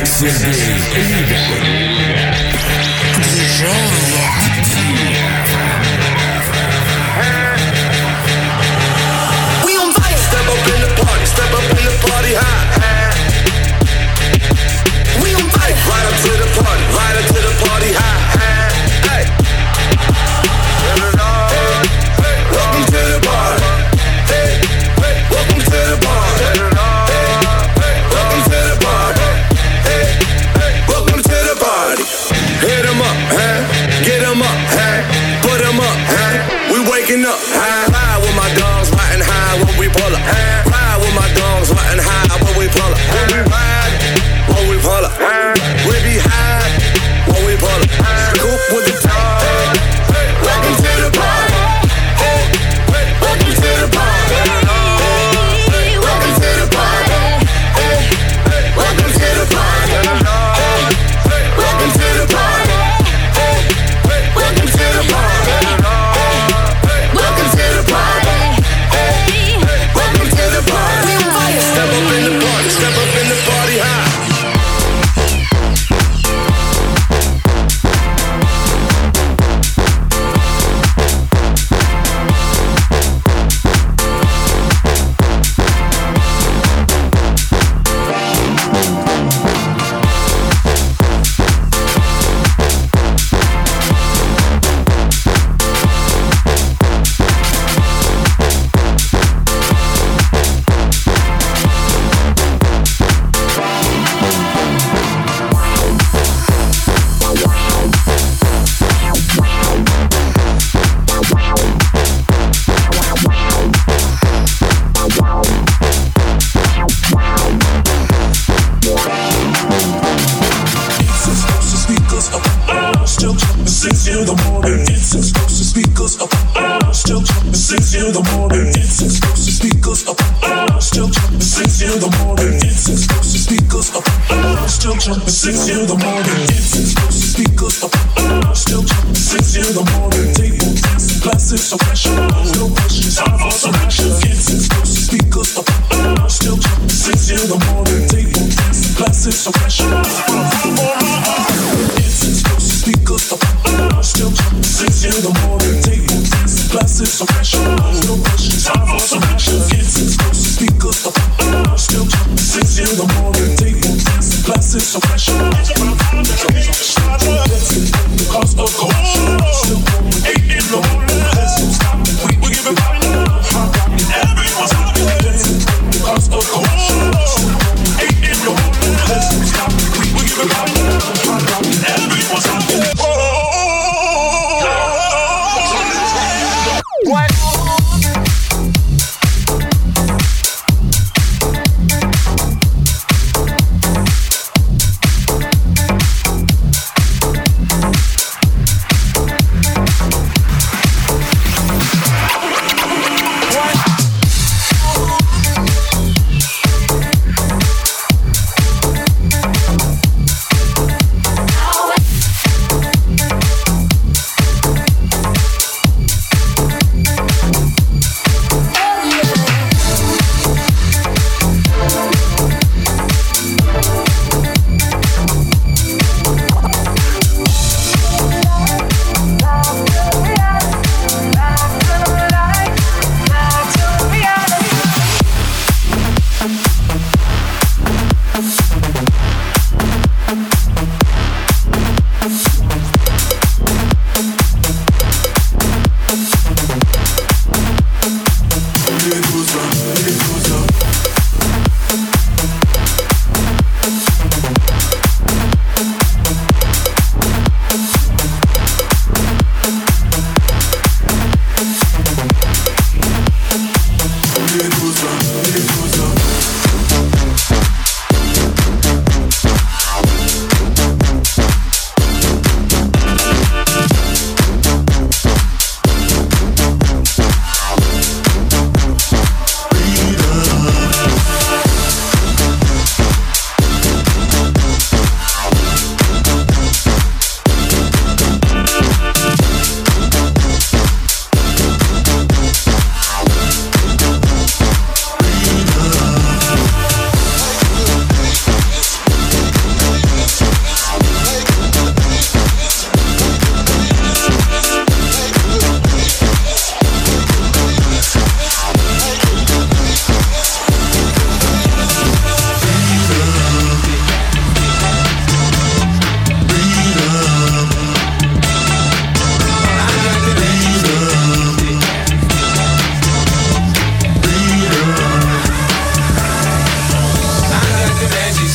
Сергей We on fire. Step up in the party, step up in the party high. We on fire. Right up to the party, right up to the party high. Hey. Welcome to the party. Hey. Welcome to the party. Welcome to the party. Hey. Welcome to the party. Hit 'em up, huh? Get 'em up, huh? Put 'em up, huh? We waking up, huh? Ride with my dogs, riding high when we pull up. Ride with my dogs, riding high when we pull up. When we ride, when we pull up. We be high when we pull up. Scoop with the dog. Welcome to the party. Welcome to the party. Welcome to the party. Welcome to the party. Welcome to the party. Welcome to the party. Welcome to the party. Welcome to the party. We on fire. Step up in the party. Step up in the party high.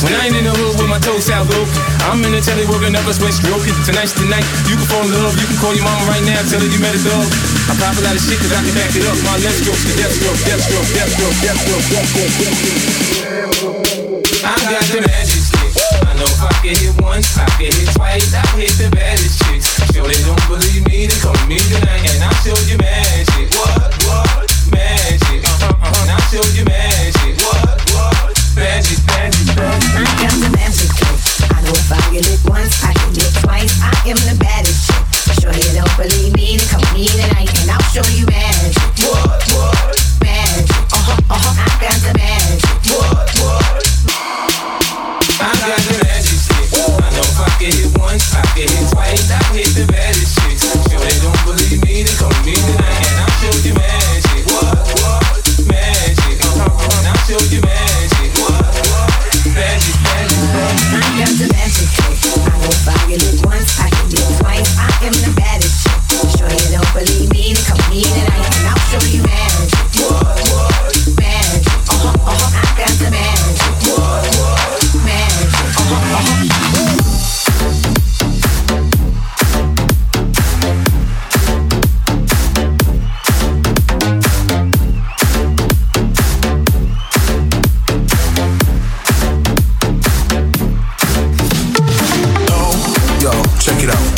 When I ain't in the hood with my toes out broke, I'm in the telly working up a sweat stroking. Tonight's the night, you can fall in love. You can call your mama right now, tell her you met a dog. I pop a lot of shit cause I can back it up. My left stroke, the death stroke, death stroke, death stroke, death stroke, death stroke. I got the magic stick. I know if I can hit once, I can hit twice. I hit the baddest chicks. Sure they don't believe me, they call me tonight, and I'll show you magic. What? Magic. And I'll show you magic. What? Magic. I got the magic trick. I know if I get it once, I can get twice. I am the baddest chick. Sure you don't believe me, then come me tonight and I'll show you magic. What? Magic. I got the magic. What? I got the magic stick. I know if I can hit once, I can hit twice. I hit the baddest chicks. Sure they don't believe me, then come me tonight and I'll show you magic. What? Magic. And I'll show you magic. Magic. I got the magic trick. I know if I get it once, I can get it twice. I am the baddest chick. Sure you don't believe me, then come me tonight and I'll show you magic. Magic. I got the magic. Magic. Check it out.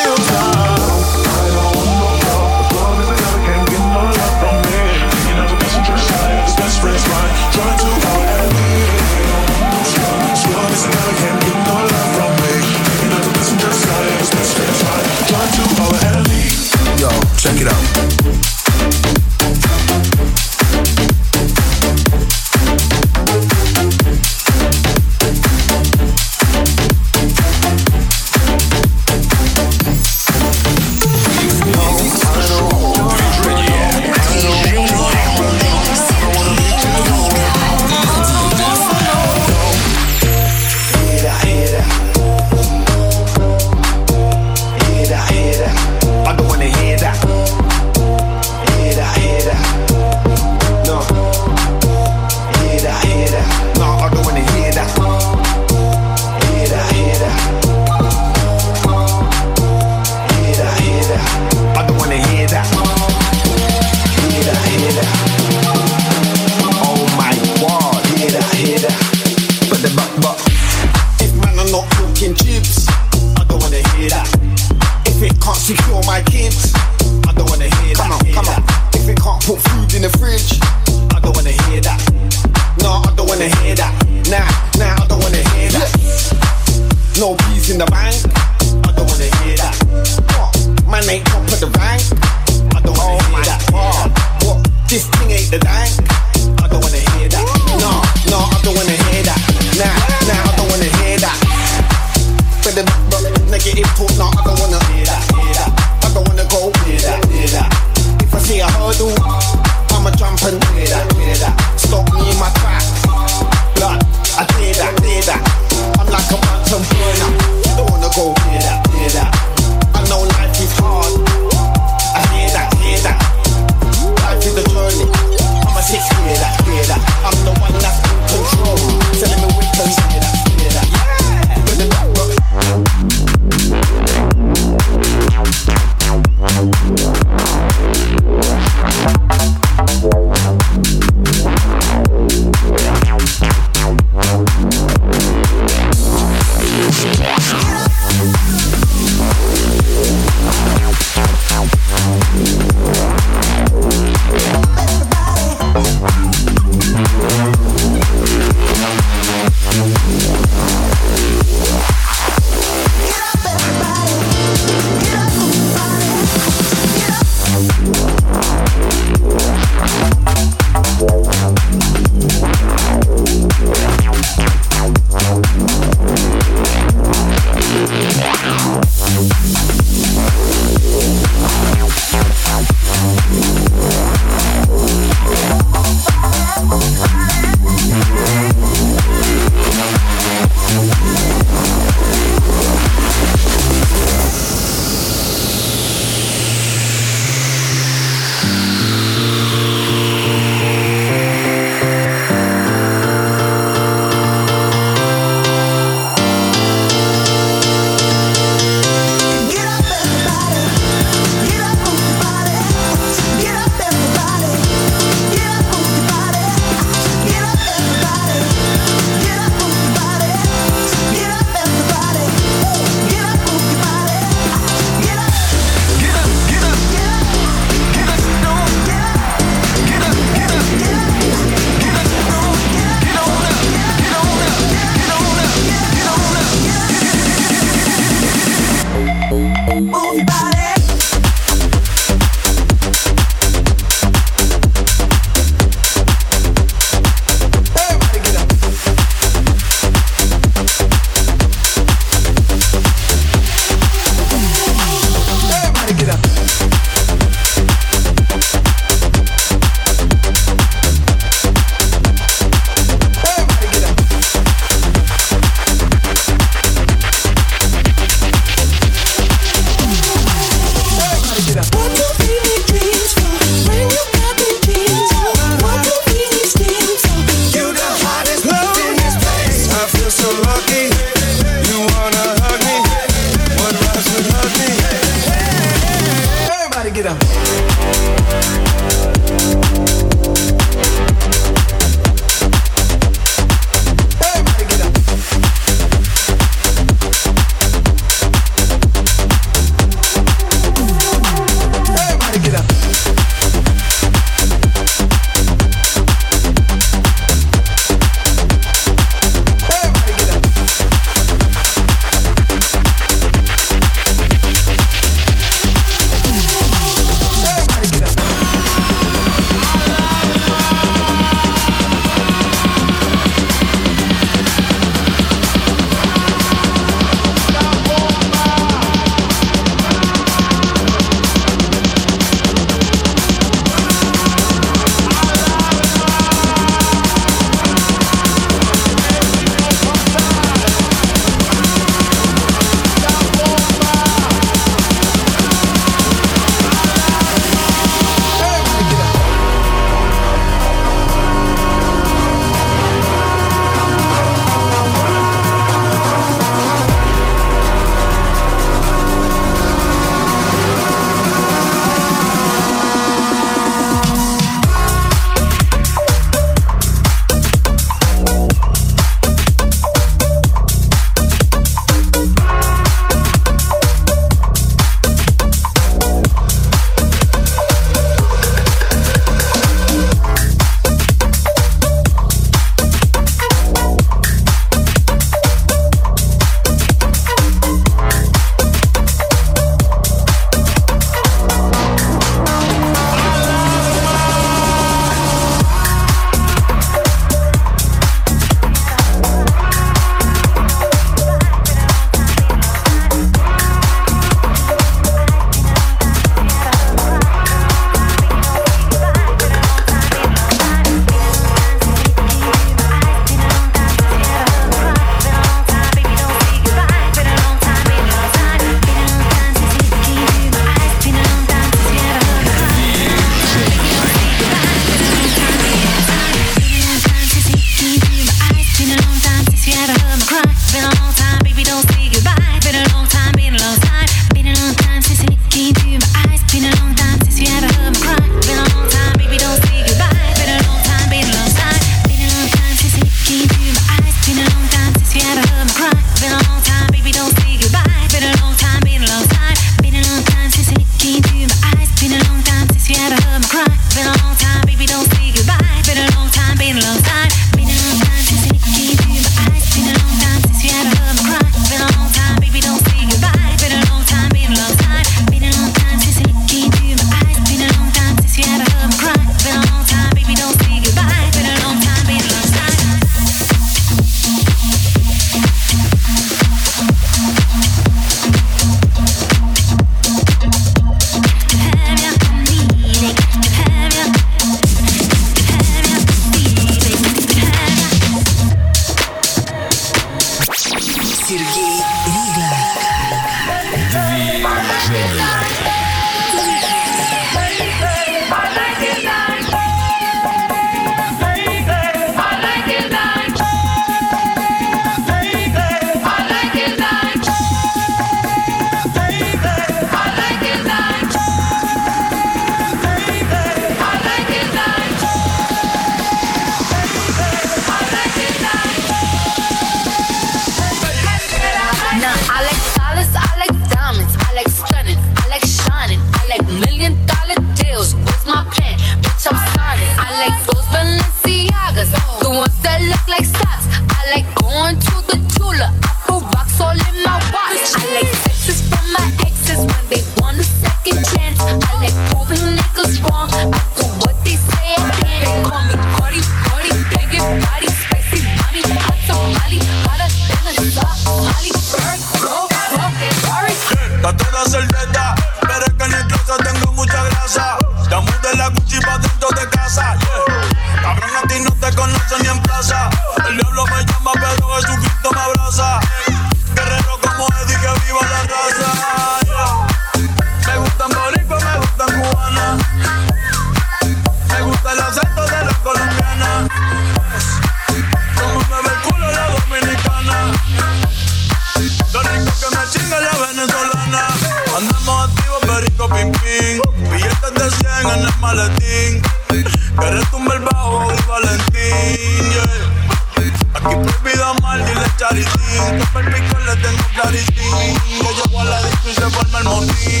casa. El diablo me llama, pero Jesucristo me abraza. Guerrero como Eddie, que viva la raza. Me gustan boricua, me gustan cubana. Me gusta el acento de la colombiana. Como mueve el culo la dominicana. Lo rico que me chinga la venezolana. Andamos activos, perico, pim, pim. Billetes de 100 en el maletín. Que retumbe el bajo y Valentín, yeah. Aquí prohibido mal, dile charitín. Que per pico le tengo claritín. Que llego a la disco y se forma el motín.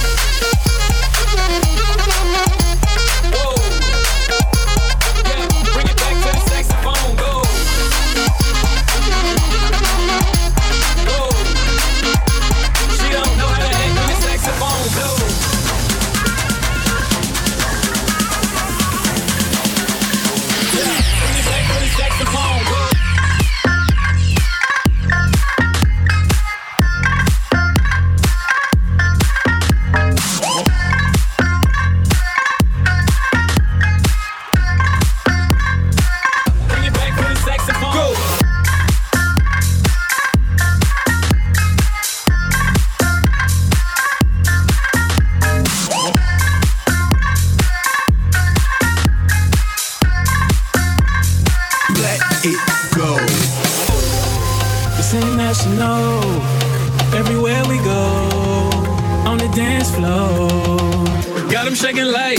Everywhere we go, on the dance floor, got them shaking like,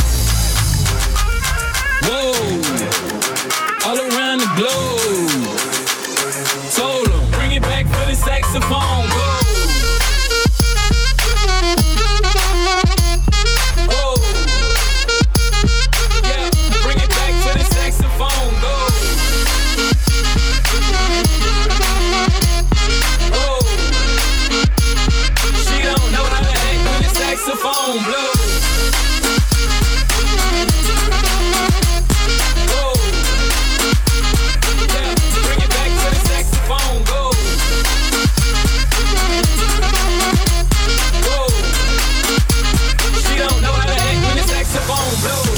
whoa, all around the globe. Told them, bring it back for the saxophone, go. Oh, yeah, bring it back for the saxophone, go. Saxophone blow. Go. Yeah, bring it back to the saxophone. Go. Go. She don't know how to act when the saxophone blows.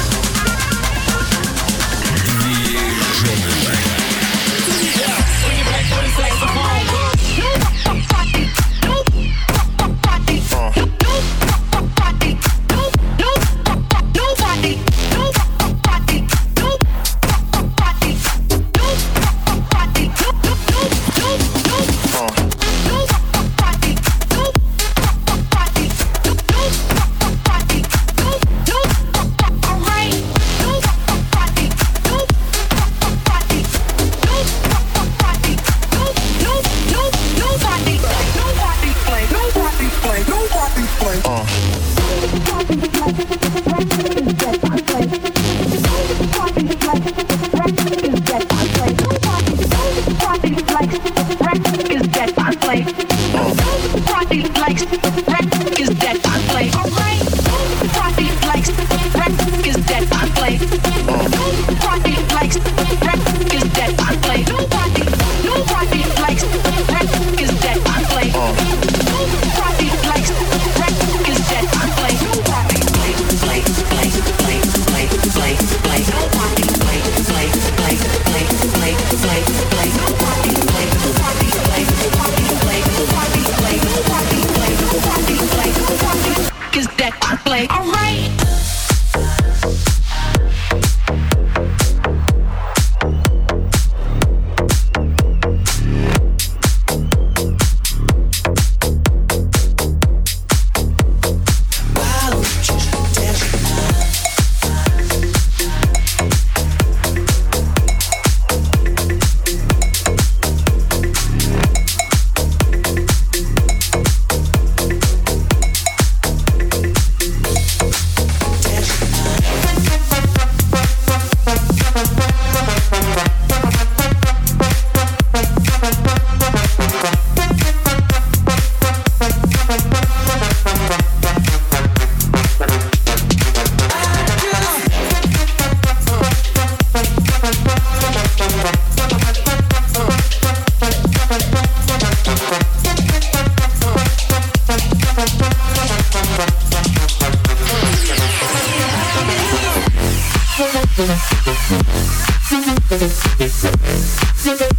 Yeah, bring it back to the saxophone. Go.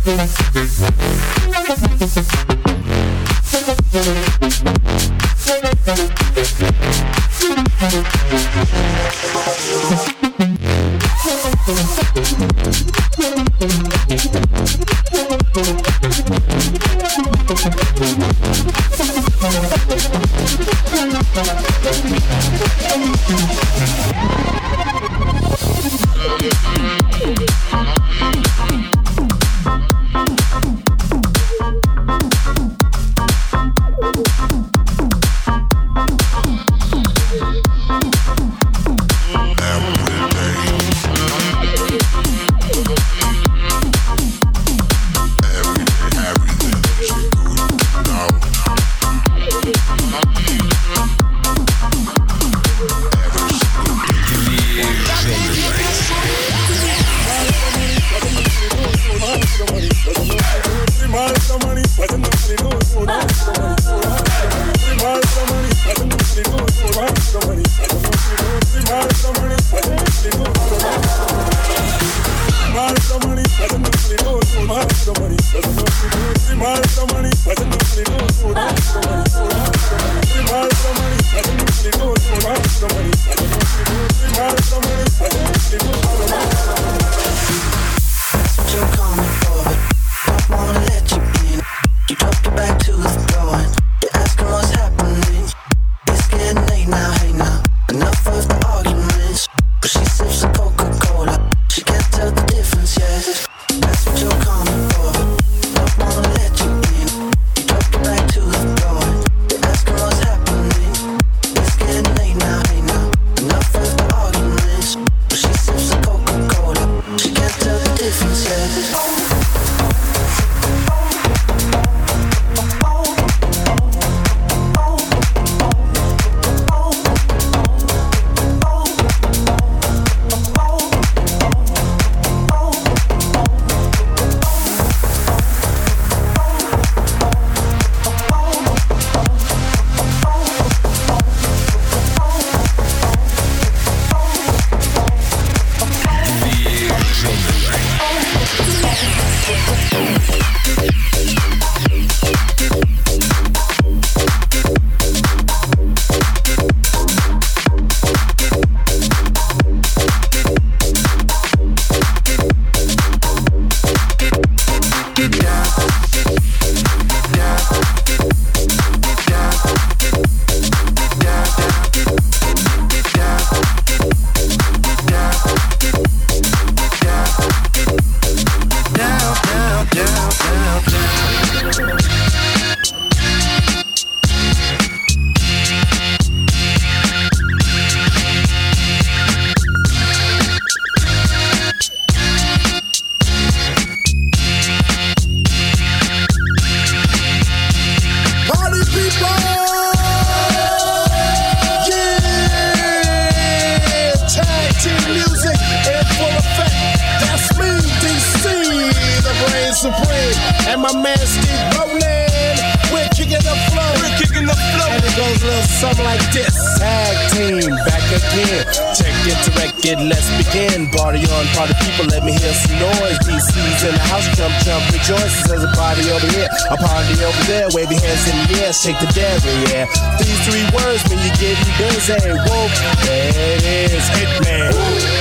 Shake the derriere. These three words mean you're getting busy. Whoa, there it is, Hitman.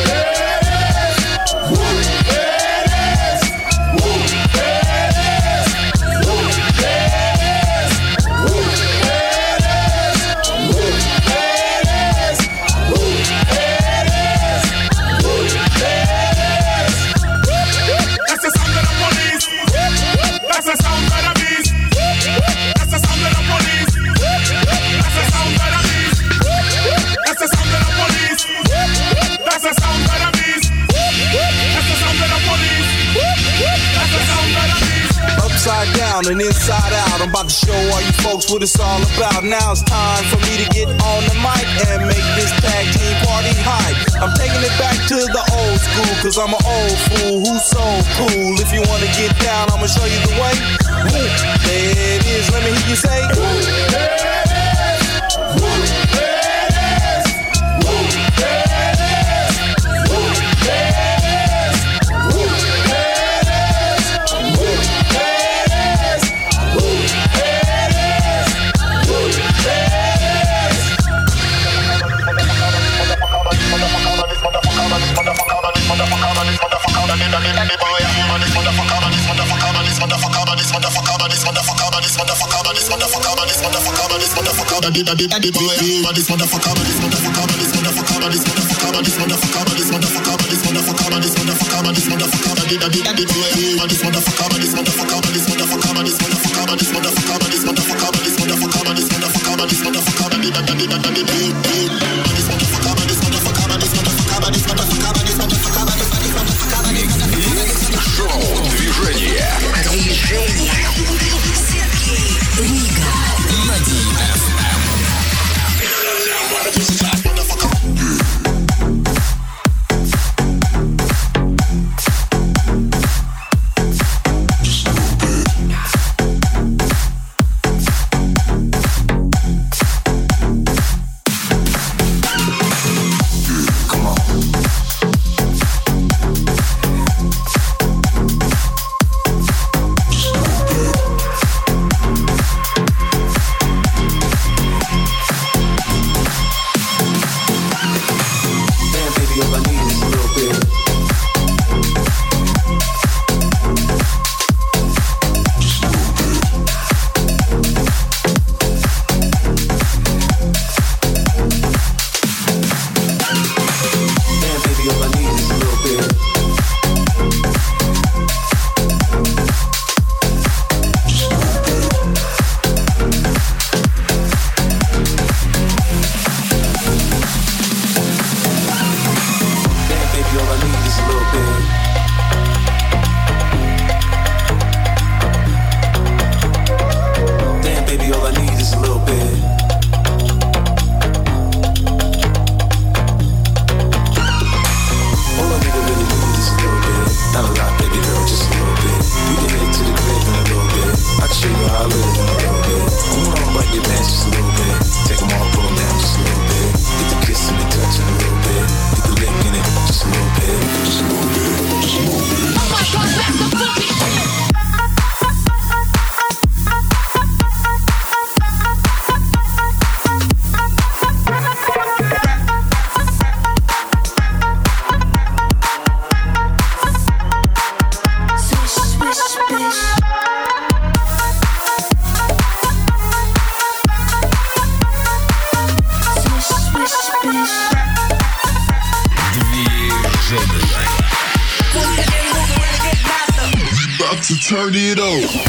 And inside out, I'm about to show all you folks what it's all about. Now it's time for me to get on the mic and make this tag team party hype. I'm taking it back to the old school, cause I'm an old fool who's so cool. If you wanna get down, I'ma show you the way. There it is, let me hear you say. Turn it up.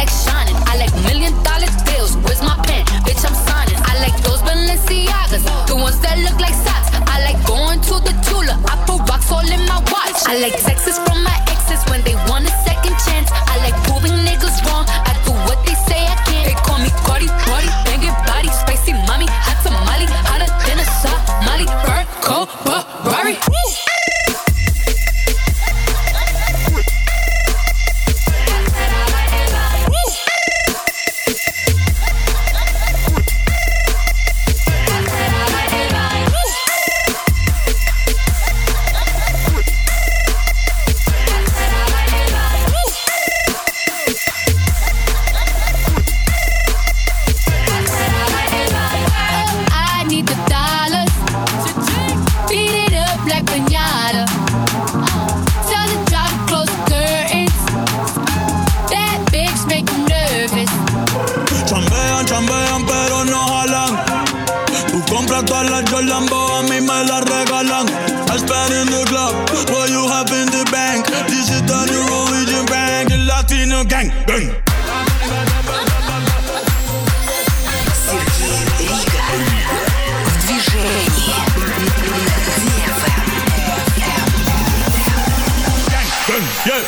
like shining. I like $1 million deals. Where's my pen? Bitch, I'm signing. I like those Balenciagas, the ones that look like socks. I like going to the Tula. I put rocks all in my watch. I like texts from my exes when they want a second chance. I like proving niggas wrong. I do what they say I can't. They call me Cardi, Cardi, banging body, spicy mommy, hot tamale, hotter than a Somali. Bird, cold, Ferrari. Lambo a mí me la regalan. I spend in the club, what you have in the bank. This is the new Norwegian bank, the Latino gang. Bang. Сергей Рига в движении. Yeah.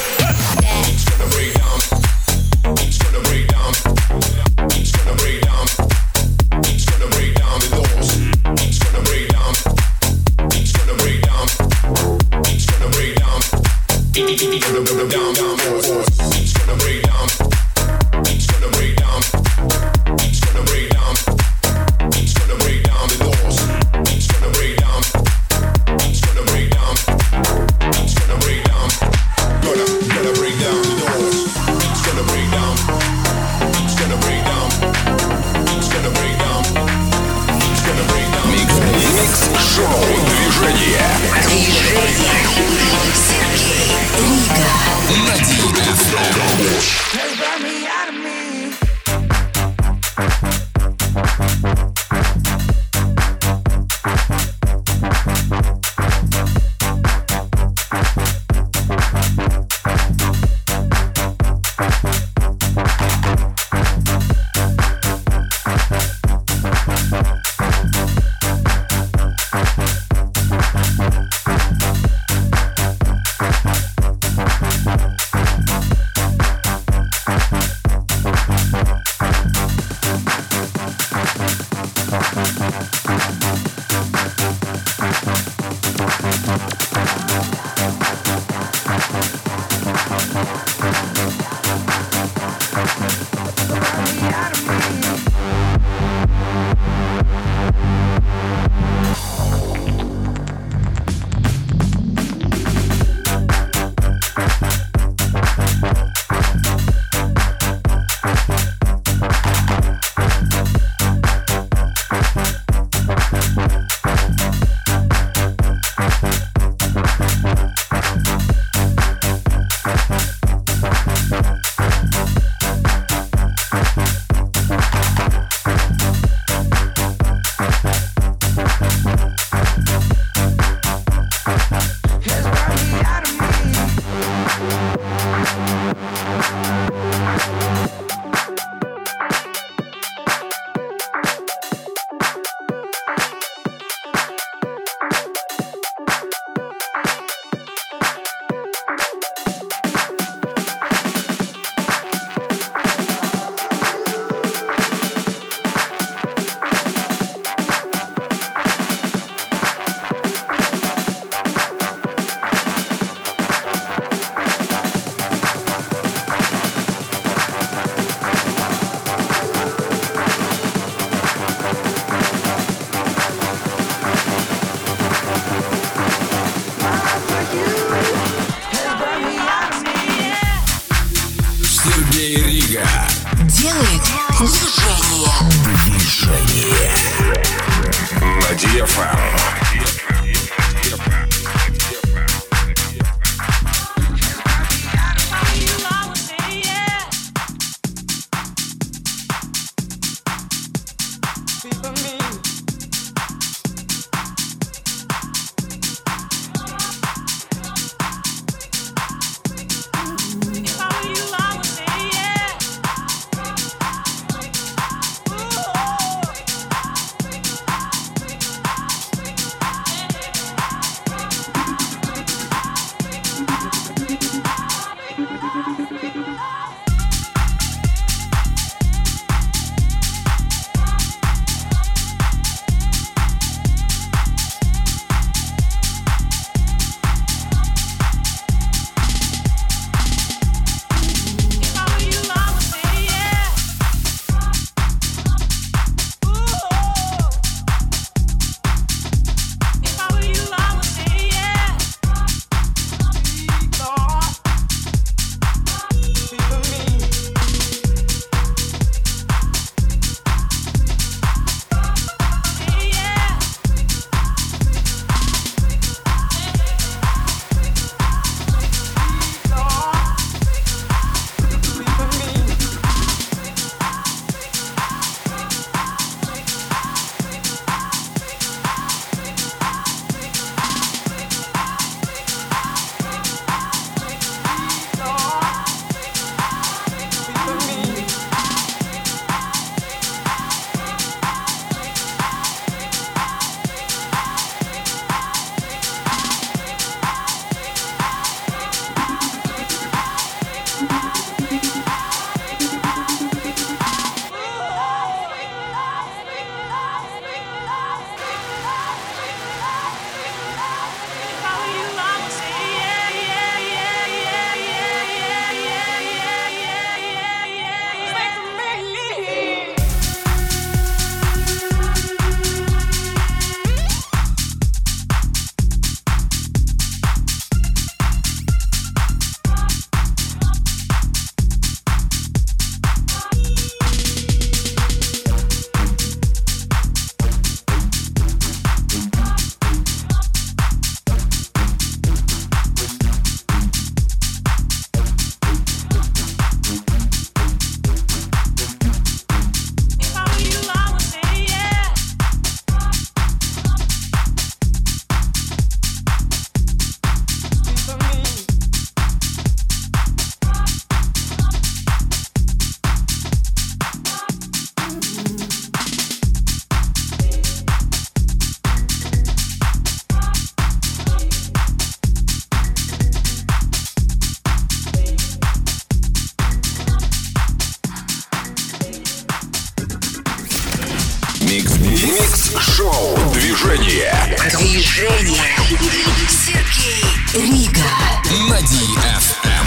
Делает движение. На DFM. Микс-шоу «Движение». Сергей Рига На DFM.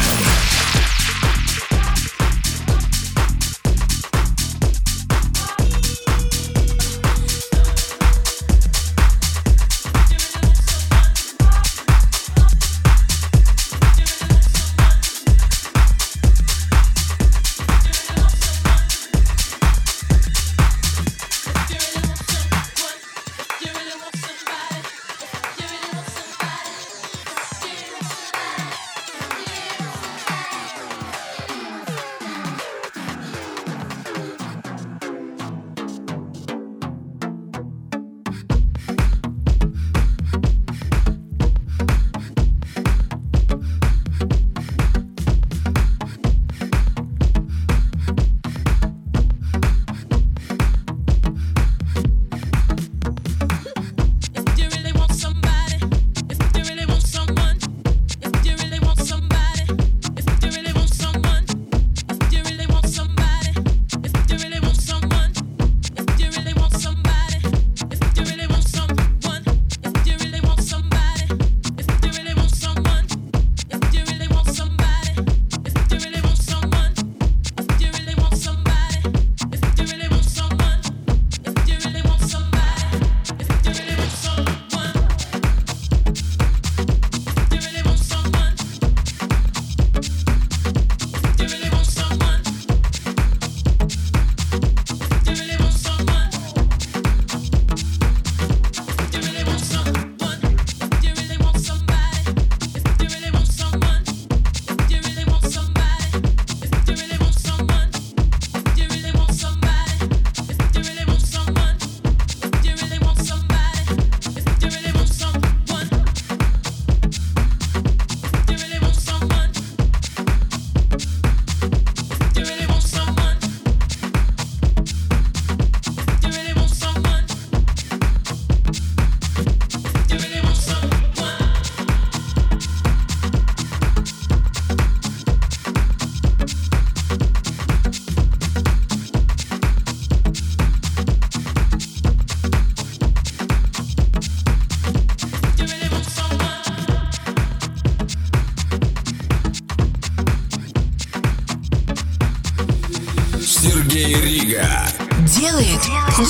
Сергей Рига делает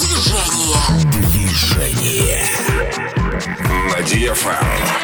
движение на DFM.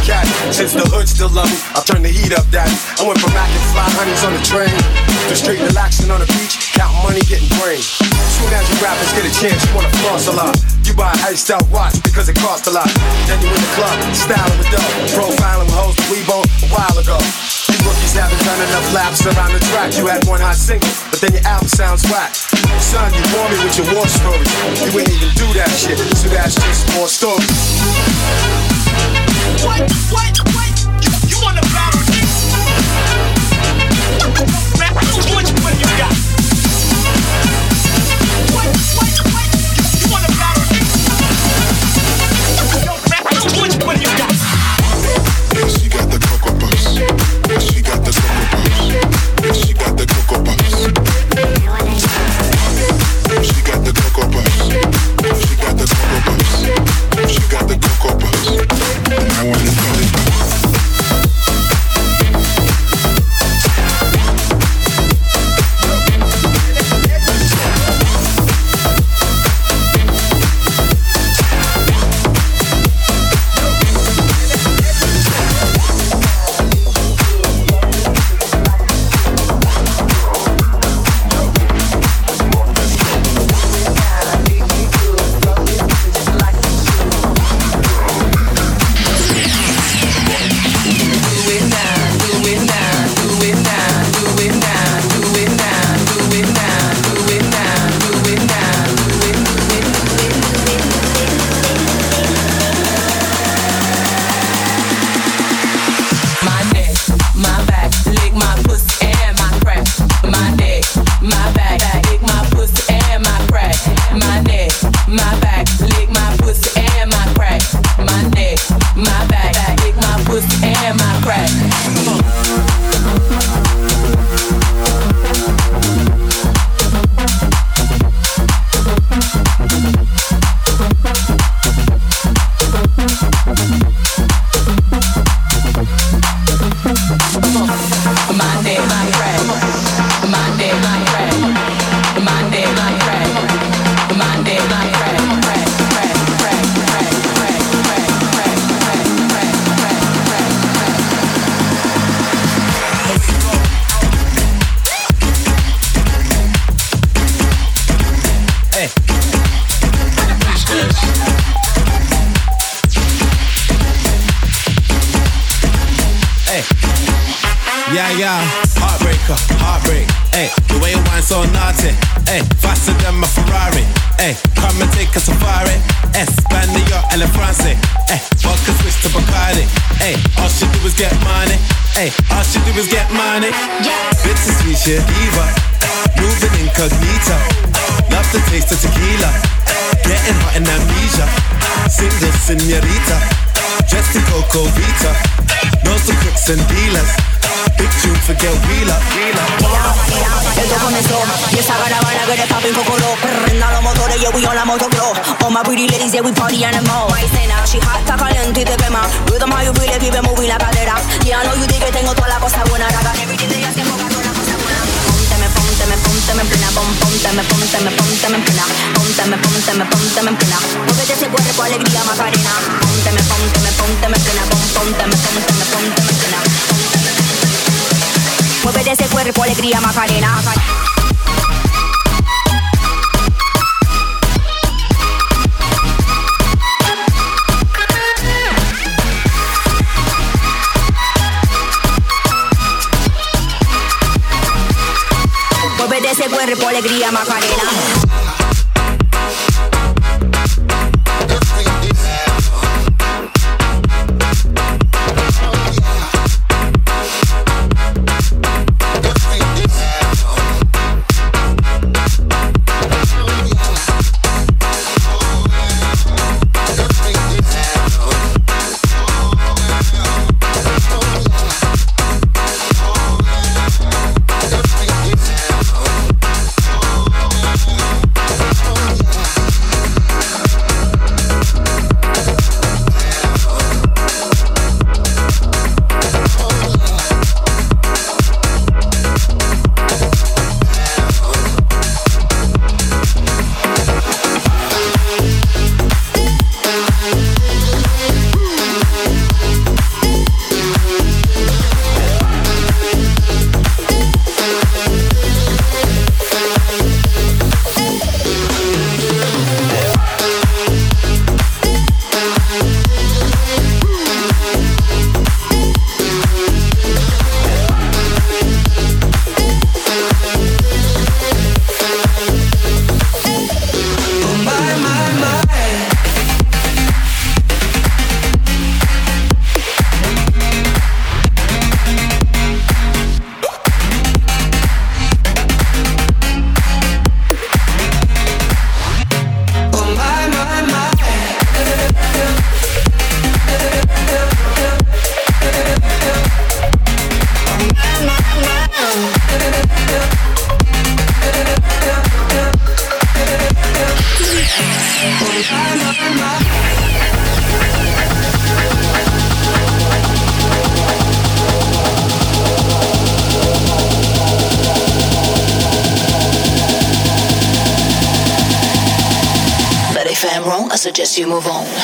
cat. Since the hood still love me, I turn the heat up, daddy. I went from macking fly honeys on the train to straight relaxing on the beach, counting money, getting brain. Soon as you rappers get a chance, you wanna floss a lot. You buy an iced out watch because it costs a lot. Then you in the club, styling with dough, profiling with hoes that we bought a while ago. These rookies haven't done enough laps around the track. You had one hot single, but then your album sounds whack. Son, you bore me with your war stories. You ain't even do that shit, so that's just more stories. What? You wanna battle me? What you got? What? You wanna battle me? What you got? She got the Cocoa Puffs. She got the Cocoa Puffs. She got the Cocoa Puffs. She got the Cocoa Puffs. She got the Cocoa Puffs. She got the Cocoa Puffs. And I wanna call it back. Heartbreak, ayy, the way you whine so naughty, ayy, faster than my Ferrari, ayy, come and take a safari, Espanol, and France, ayy, vodka switch to Bacardi, ayy, all she do is get money, ayy, all she do is get money, bittersweet, she a diva, moving incognito, love the taste of tequila, getting hot in amnesia, single señorita, dressed in Coco Vita, knows the crooks and dealers. Big tune, forget wheeler. Esto comenzó y esa caravana que le papi un poco low. Prenda los motores, yeah, we on la motocross. All my pretty ladies, yeah, we party in the mall. Why say now? She hot, está caliente y te quema. Rhythm how you feel it, keep it moving la cadera. Yeah, I know you think que tengo toda la cosa buena. Raga, every day te hacen toda la cosa buena. Pónteme en plena, pónteme en plena. Pónteme en plena. Muévete ese cuerpo, alegría, Macarena. Pónteme en plena, pónteme en plena. Muévete ese cuerpo, alegría, Macarena. Muévete ese cuerpo, alegría, Macarena. suggest you move on.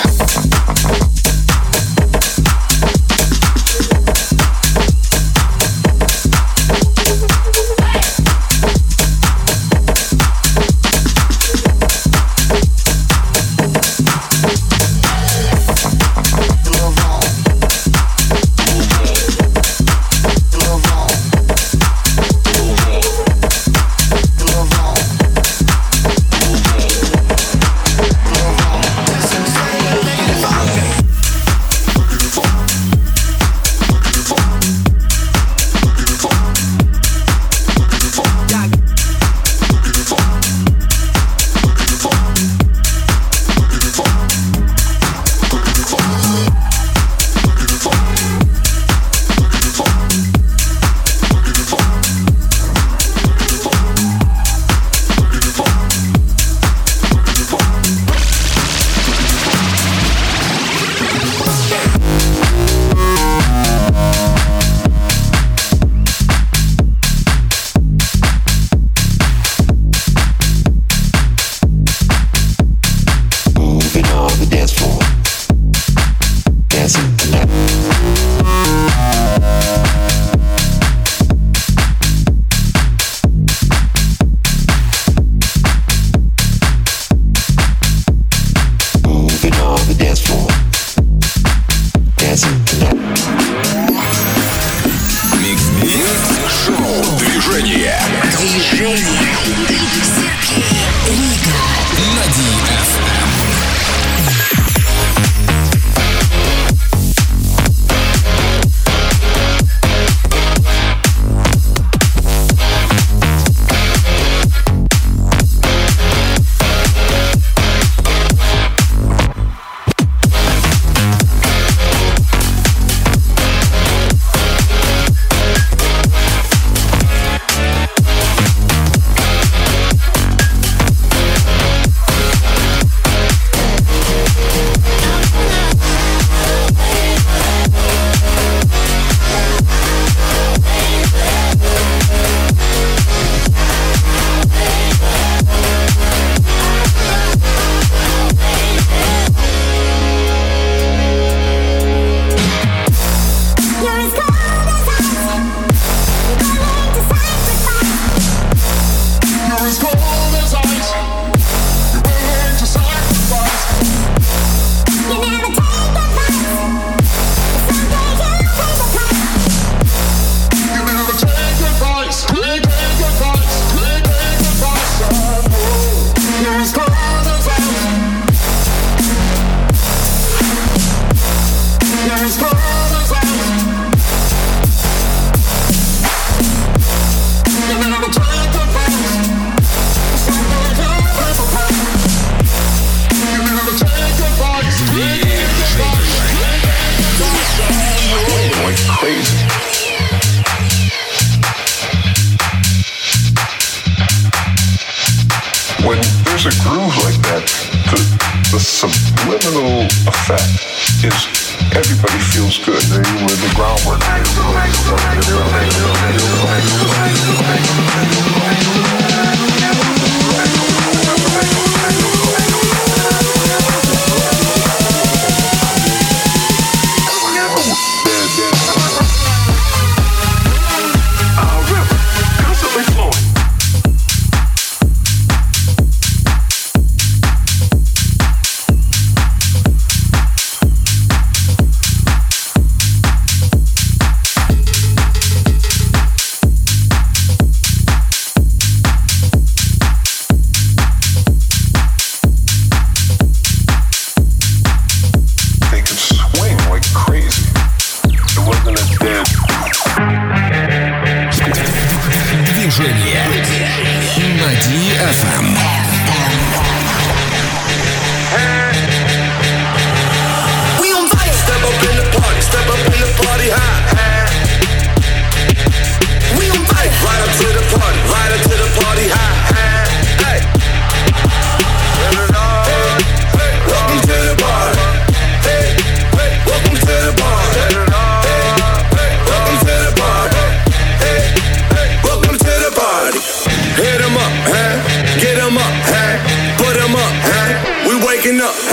Hit 'em up, huh? Get 'em up, huh? Put 'em up, huh? We waking up,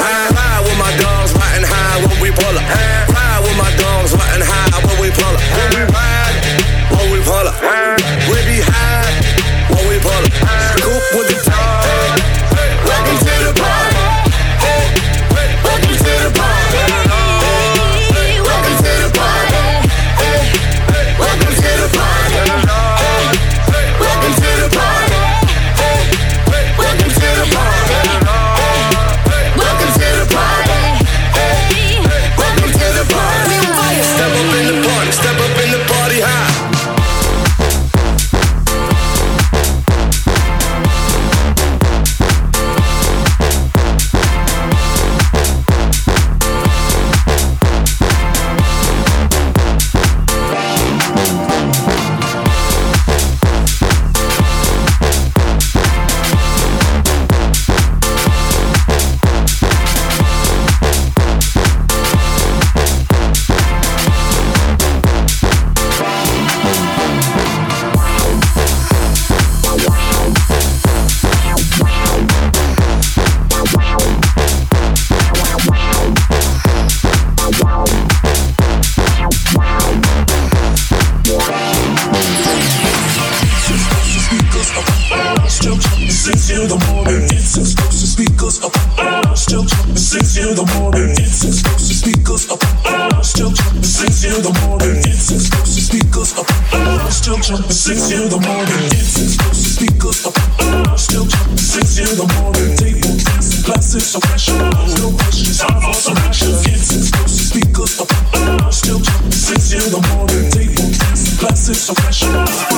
till the morning. It's explosive speakers up. Still jumping 6 till the morning. It's explosive speakers up. Still jumping 6 till the morning. It's explosive speakers up. Still jumping 6 till the morning. Table dancing, glasses of pressure. No questions, time for some action. It's explosive speakers up. Still jumping 6 till the morning. Table dancing, glasses of pressure.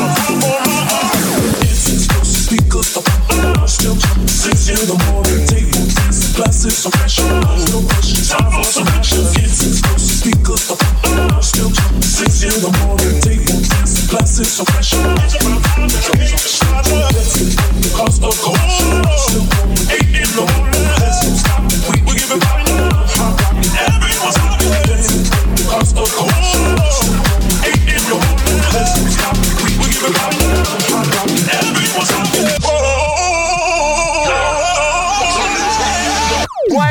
It's explosive speakers up. Still jumping 6 till the morning. Table dancing, glasses of pressure. No questions, time for some action. It's explosive speakers up. Still jumping 6 till the morning. Table dancing, glasses of pressure. The cost of cold. Still going 8 in the morning. Let's don't stop. We give it back. Everyone's rocking. The cost of cold. Still going 8 in the morning. Let's don't stop. We give it back. Everyone's rocking. What?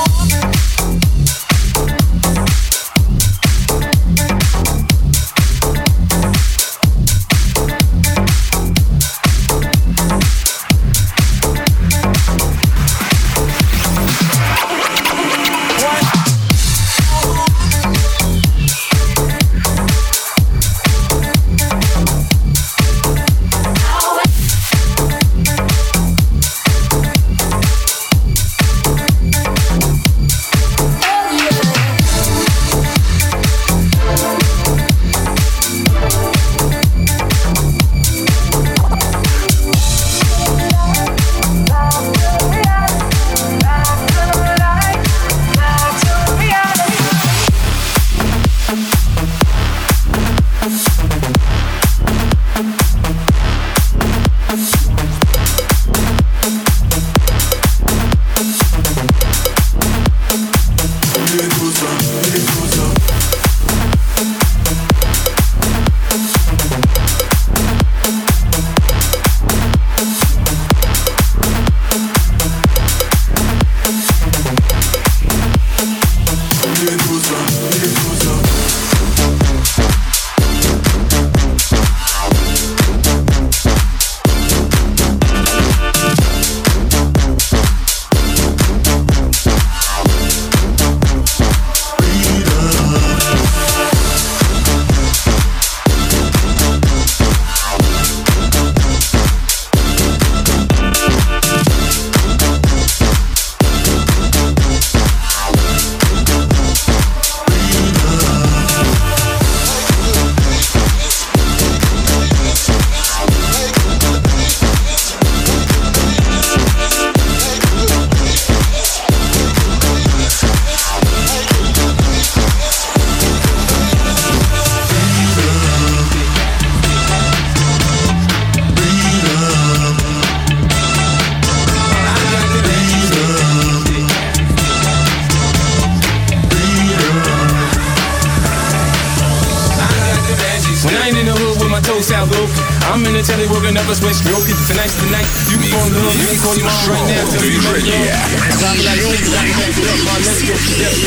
I'm in the telly working up a sweat stroking. Tonight's the night. You can fall in love. You can call your mom right now. Tell you better go. Drop it like this. I can back it up. My let's go.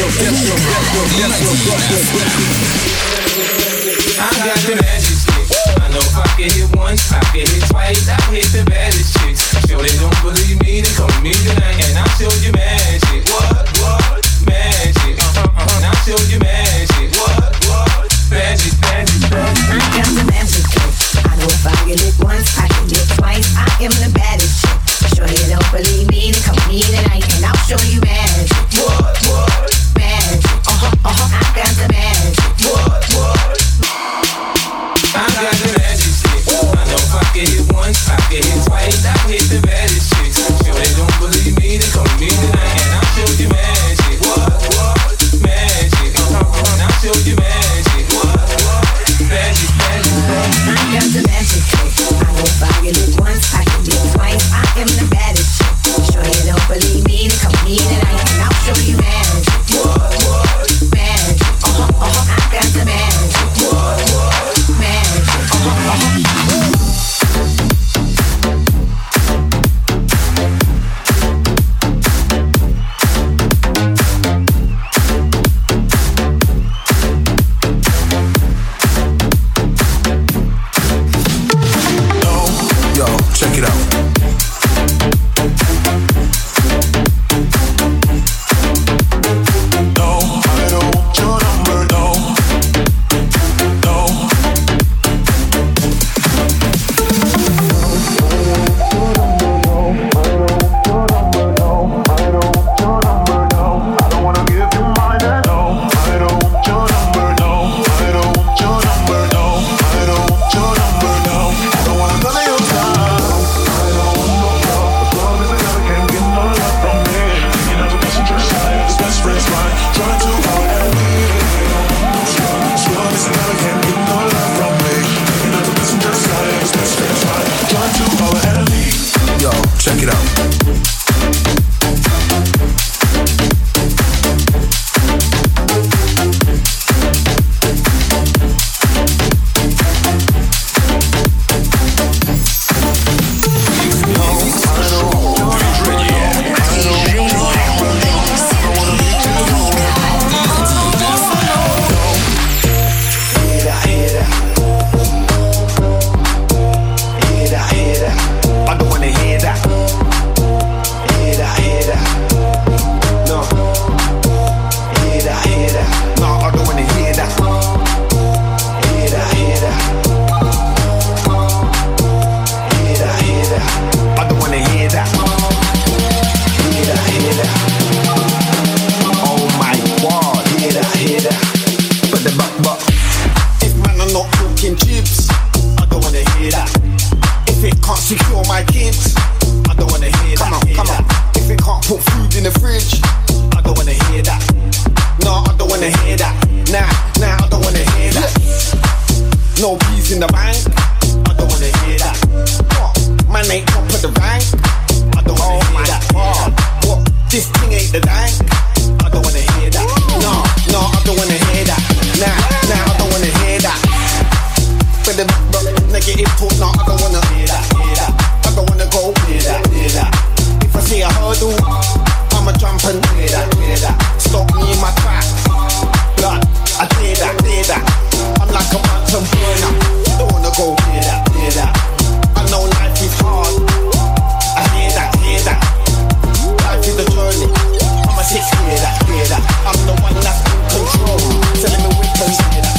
I got the magic stick. I know if I can hit once, I can hit twice. I hit the baddest chicks. Sure they don't believe me, they come me tonight, and I'll show you magic. What? Magic. And I'll show you magic. What? Magic. I got the magic stick. I know if I get it once, I can hit twice. I am the baddest chick. Sure you don't believe me, then come me tonight, and I'll show you magic. What? Magic. I got the magic. What? I got the magic stick. I know if I can hit once, I can hit twice. I hit the baddest chicks. Sure they don't believe me, they come me tonight. talking jibs, I don't wanna hear that. If it can't secure my kids, I don't wanna hear that. Come on. If it can't put food in the fridge, I don't wanna hear that. No, I don't wanna hear that. Nah, I don't wanna hear that. No peas in the bank, I don't wanna hear that. What? Man ain't top of the rank, I don't wanna hear that. What? This thing ain't the dank, I don't wanna hear that. No, I don't wanna hear that. Nah, I don't wanna hear that. But the negative talk, no, I don't wanna hear that. I don't wanna go hear that. If I see a hurdle, I'ma jump and hear that. Stop me in my tracks. Blood, I hear that. I'm like a mountain burner. Don't wanna go hear that. I know life is hard. I hear that. Life is a journey. I'm a six, hear that. I'm the one that's in control. Telling me weapons, hear that.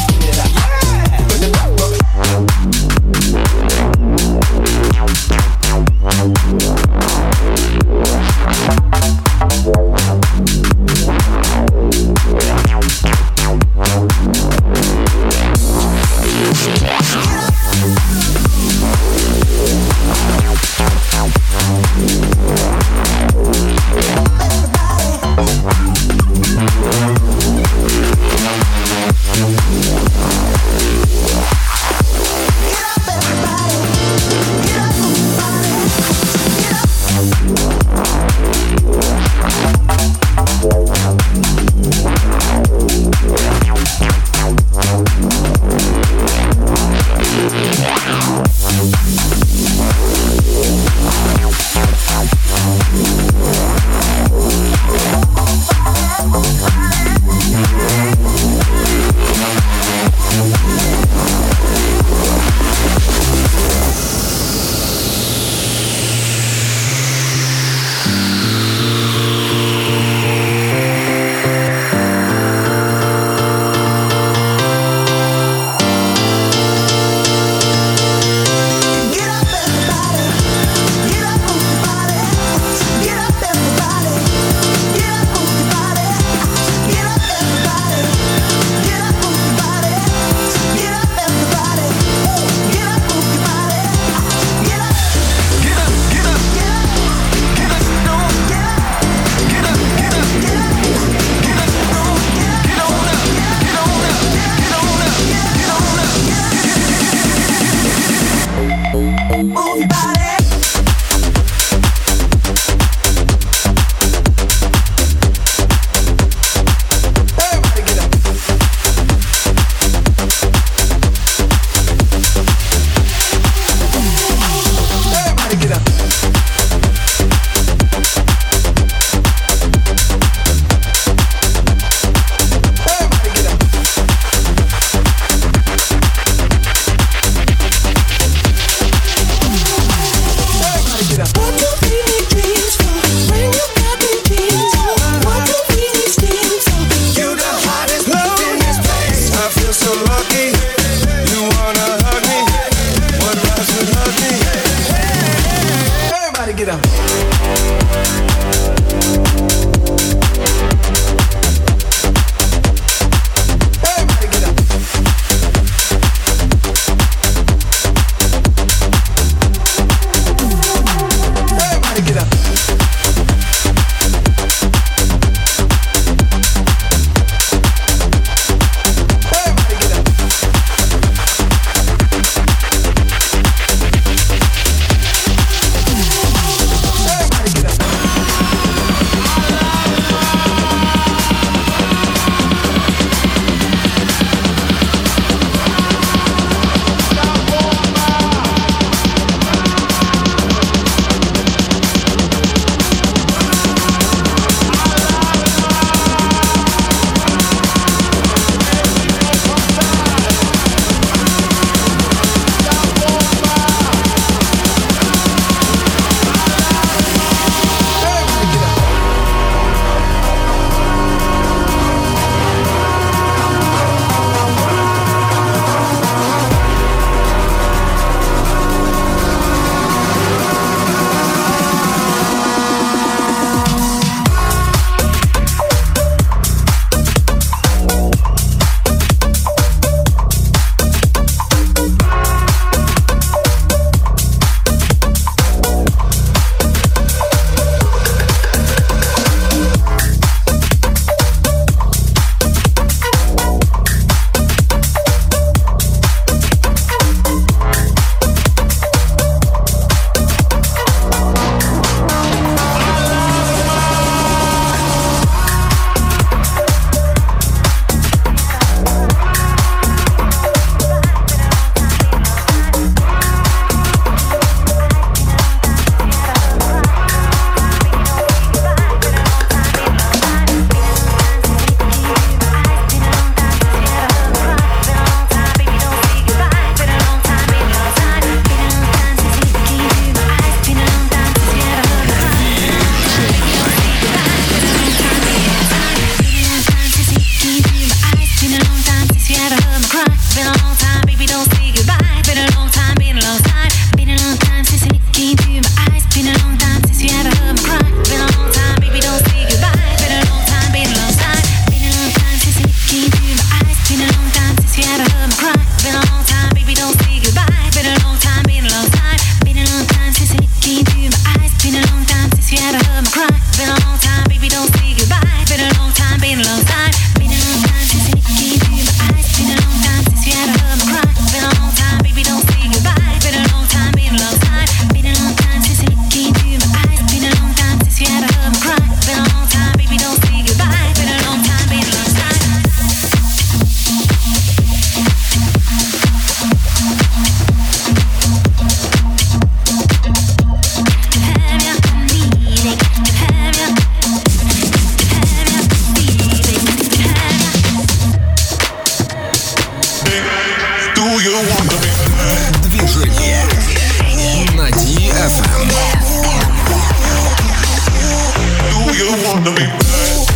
want to be bad?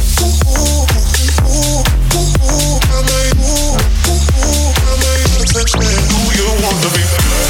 Do you want to be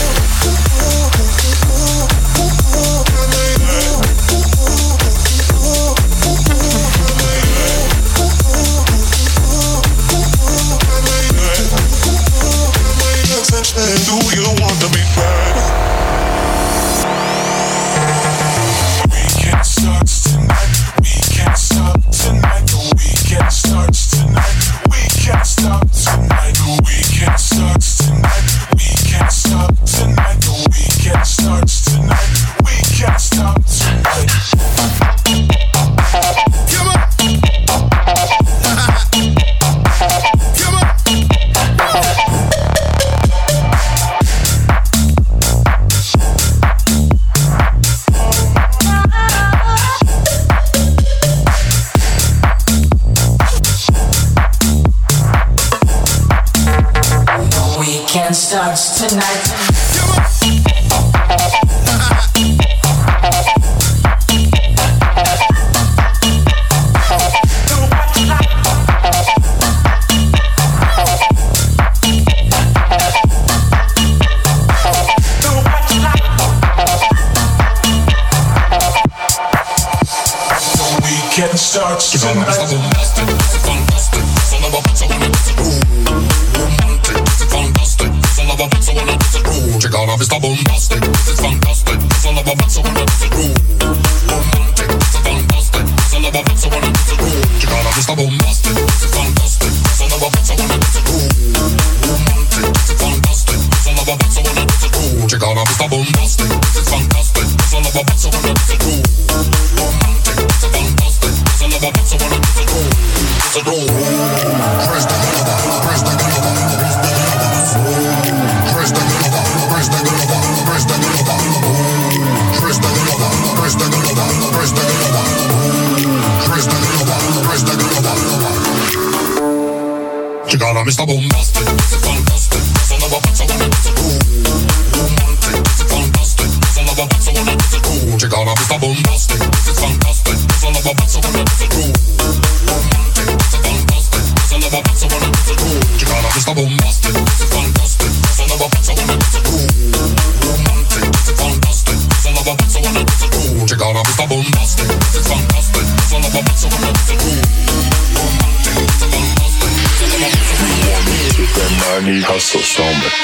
hustle so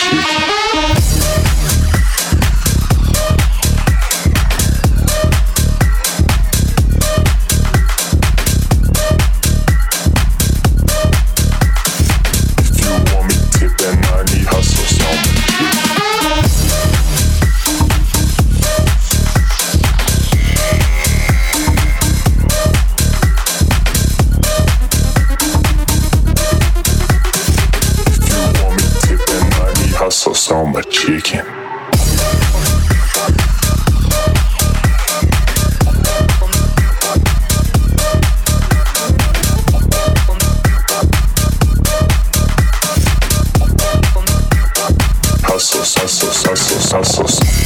much. So much chicken. Hustle.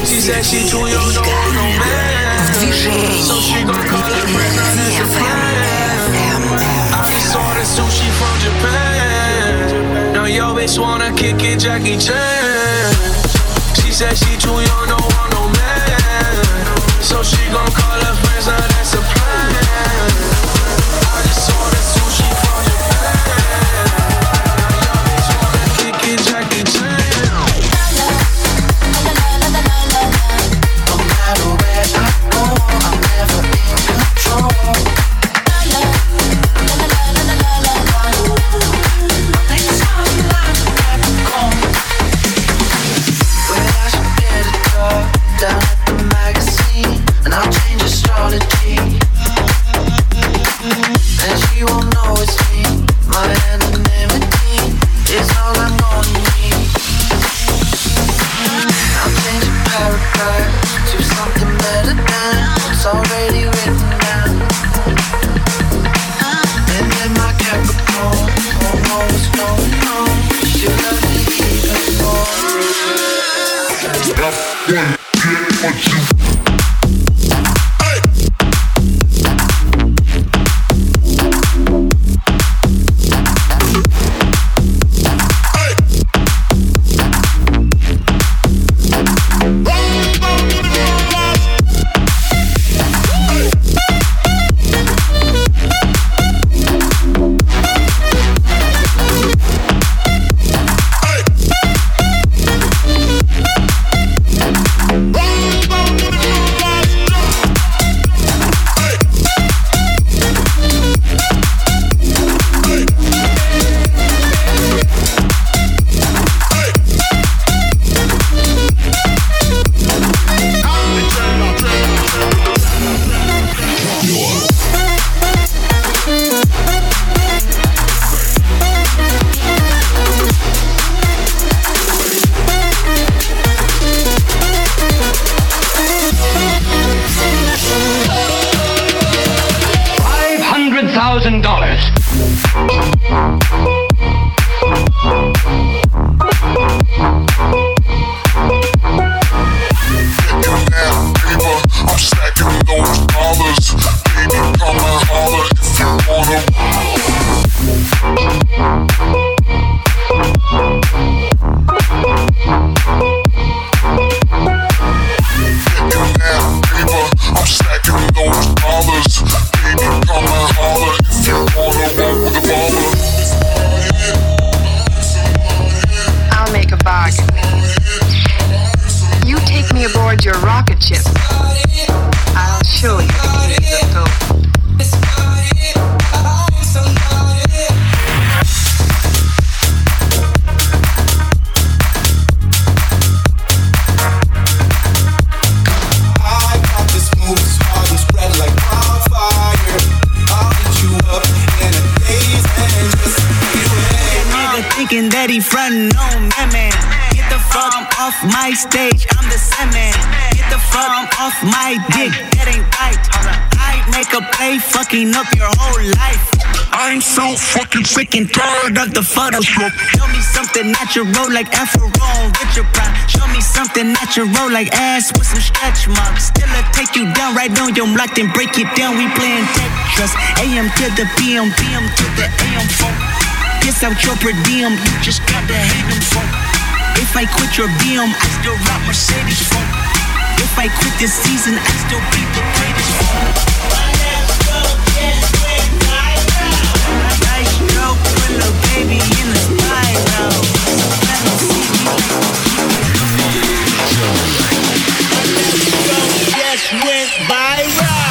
She said she too young, don't want no man. So she gon' call her friends, now that's a plan. I just ordered sushi from Japan. Now yo bitch wanna kick it, Jackie Chan. She said she too young, don't want no man. So she gon' call her friends, now that's a plan. I just ordered sushi from Japan. Now yo bitch wanna kick it, Jackie Chan. Stage, I'm the Sandman. Get the fuck off my dick, that ain't right. I make a play, fucking up your whole life. I'm so fucking sick and tired of the Photoshop. Show me something natural like Afro on Richard Pryor. Show me something natural like ass with some stretch marks. Still I take you down right on your block, then break it down. We playing Tetris. AM to the PM, PM to the AM phone. Kiss out your per diem, you just got to hate them phone. If I quit your BM, I still rock Mercedes phone. If I quit this season, I still be the greatest phone. Nice stroke, put a baby in the spiral. Just went viral.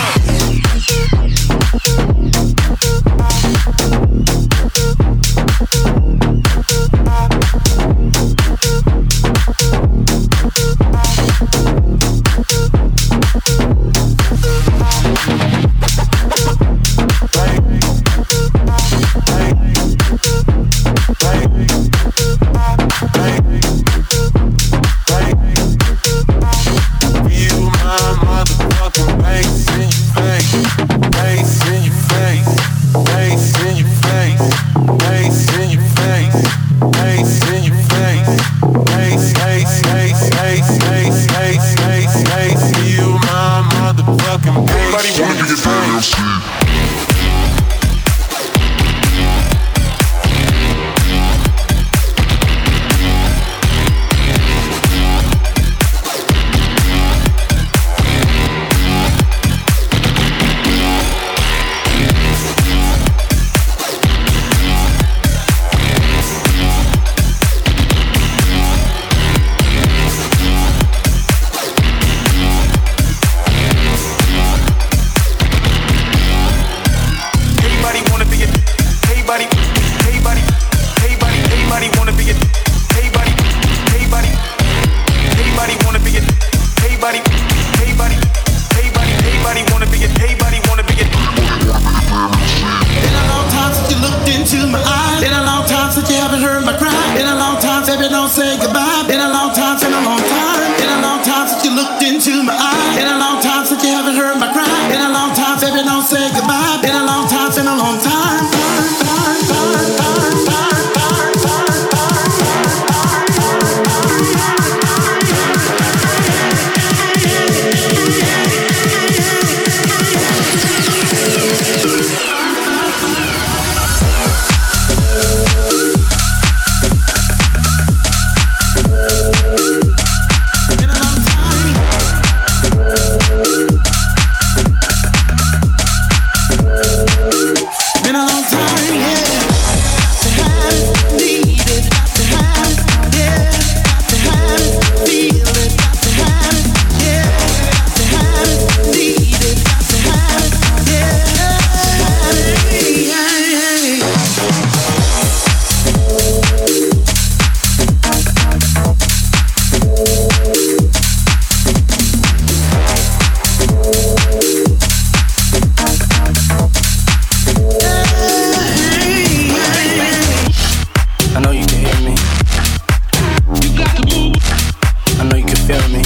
feel me.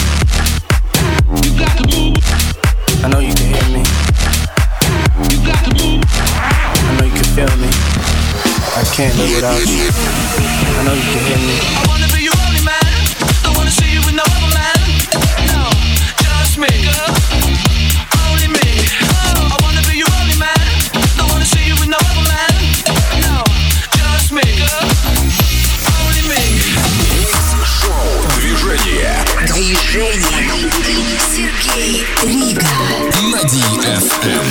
I know you can hear me. I know you can feel me. I can't live without you. I know you can hear me. I wanna be your only man. Don't wanna see you with no other man. No, just me, girl. Only me. I wanna be your only man. Don't wanna see you with no other man. No, just me, girl. Only me. Движение. Сергей Рига на DFM.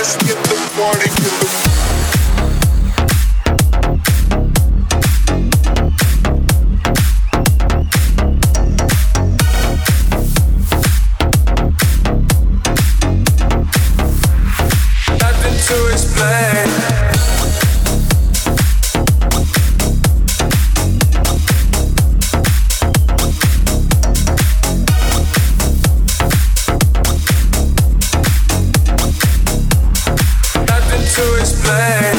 let's get the party going. To explain. Nothing to explain.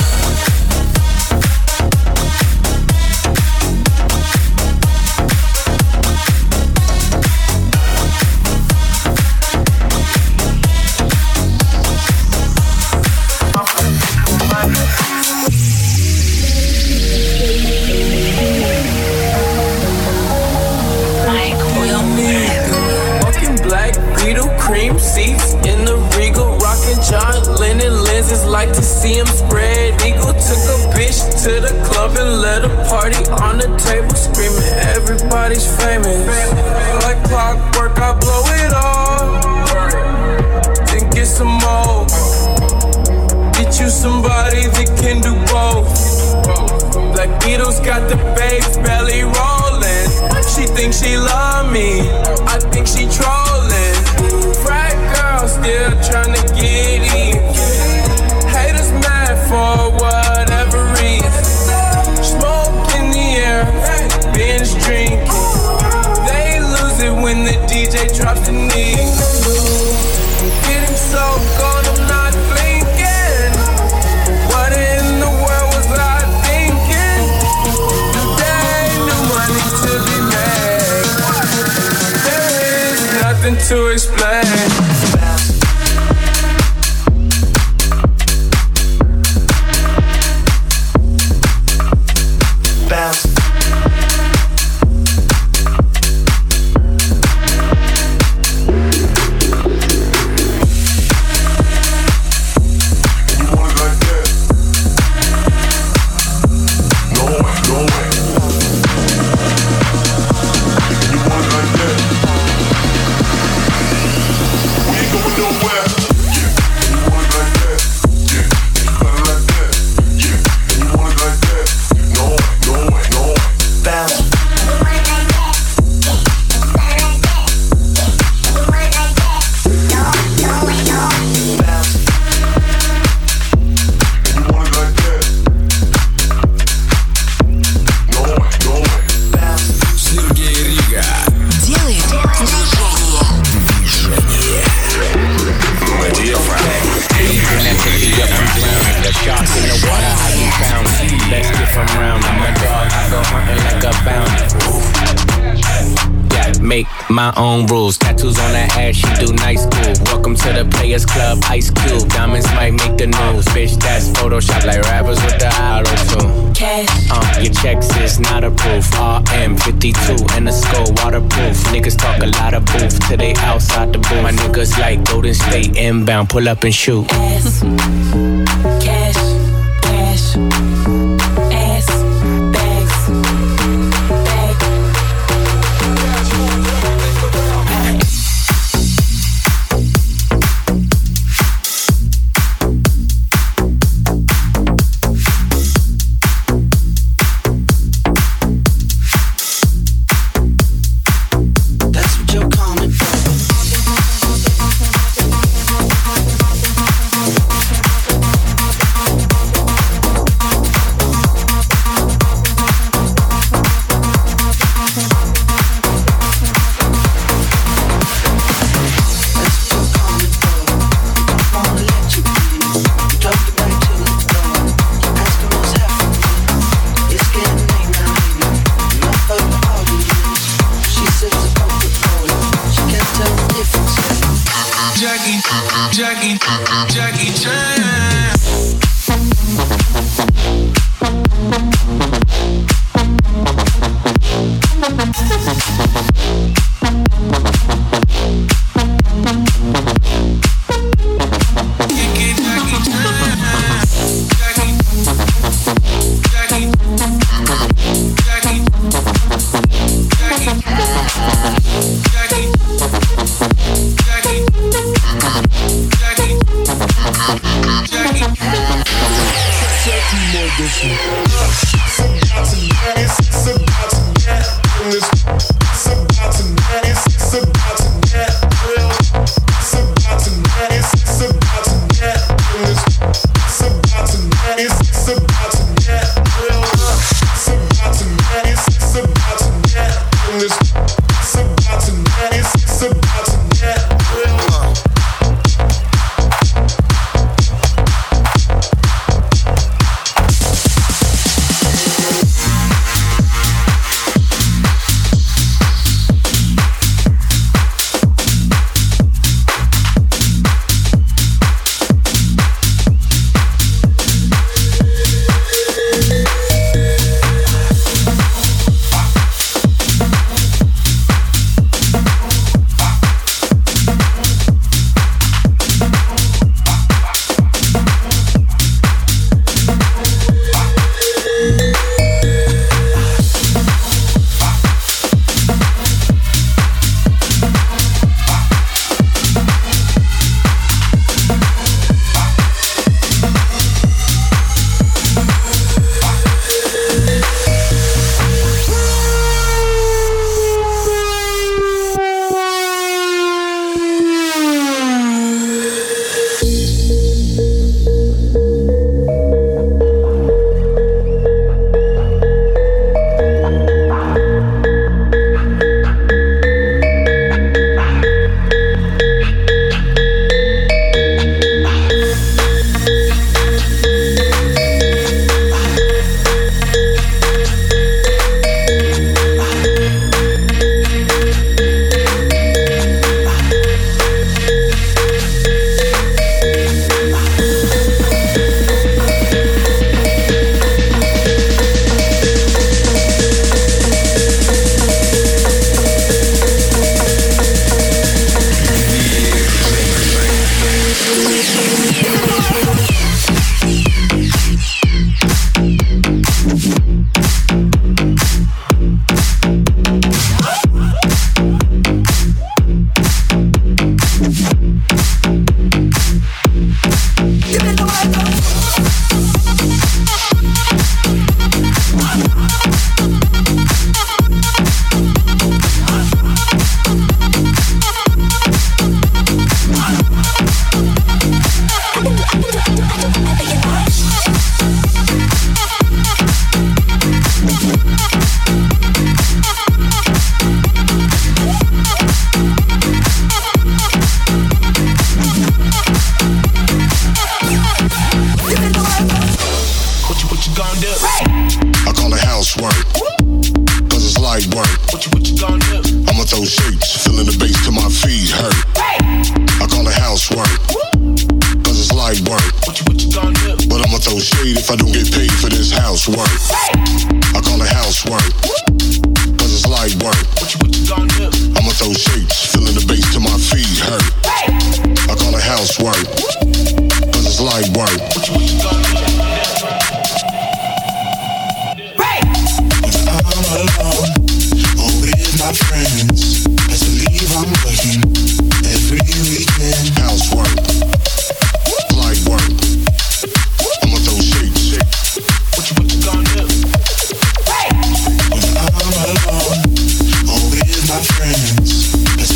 Cream seats in the Regal, rockin' John Lennon lenses, like to see him spread eagle. Took a bitch to the club and let a party on the table, screaming everybody's famous. Like clockwork, I blow it all, then get some more. Get you somebody that can do both. Black Beatles got the bass belly rolling. She thinks she love me, I think she trolling. Frat girl still tryna get in. Haters mad for whatever reason. Smoke in the air, binge drinking. They lose it when the DJ drops the knee. I'm getting so cold, I'm not blinking. What in the world was I thinking? Today, new money to be made. There is nothing to explain. My own rules, tattoos on her ass, she do nice school. Welcome to the Players Club, Ice Cube. Diamonds might make the news. Bitch, that's Photoshop like rappers with the auto-tune. Cash. Your checks is not approved. RM52 and the skull waterproof. Niggas talk a lot of booth till they outside the booth. My niggas like Golden State inbound, pull up and shoot. Ass. Cash. Cash. Ass. Bags. Jackie Chan. edition.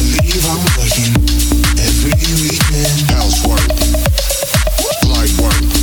Housework, light work.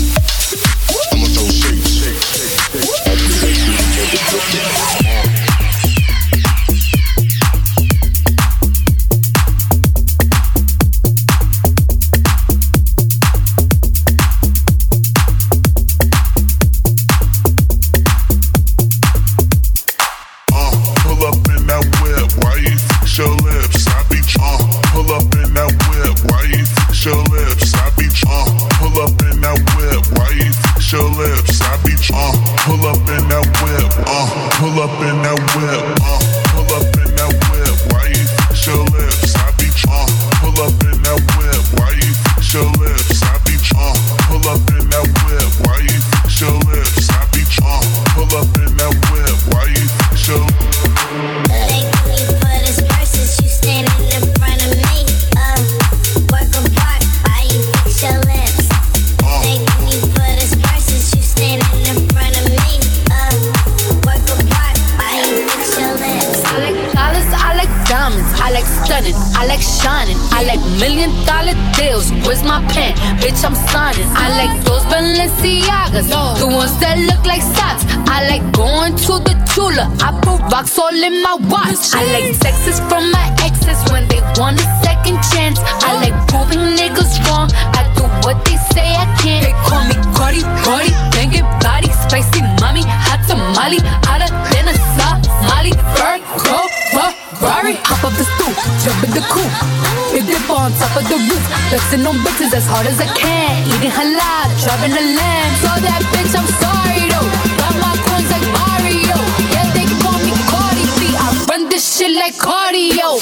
pen, bitch, I'm signing. I like those Balenciagas, the ones that look like socks. I like going to the Tula, I put rocks all in my watch. I like texts from my exes when they want a second chance. I like proving niggas wrong, I do what they say I can't. They call me Cardi, Cardi, banging body, spicy mommy, hot tamale, hotter than a Somali. Virgo, Ferrari, hop up the stoop, jump in the coupe, hit dip on top of the roof, flexing on bitches as hard as I can, eating halal, driving a lamb. So that bitch, I'm sorry though, got my coins like Mario. Yeah, they call me Cardi B, I run this shit like cardio.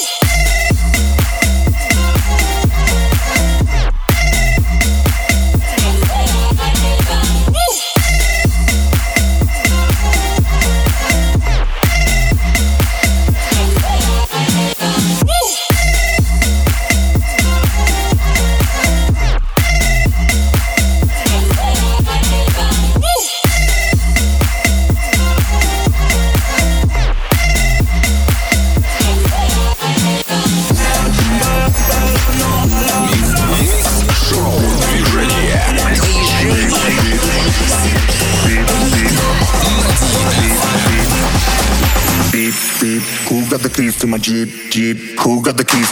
Who got the keys to my Jeep? Who got the keys?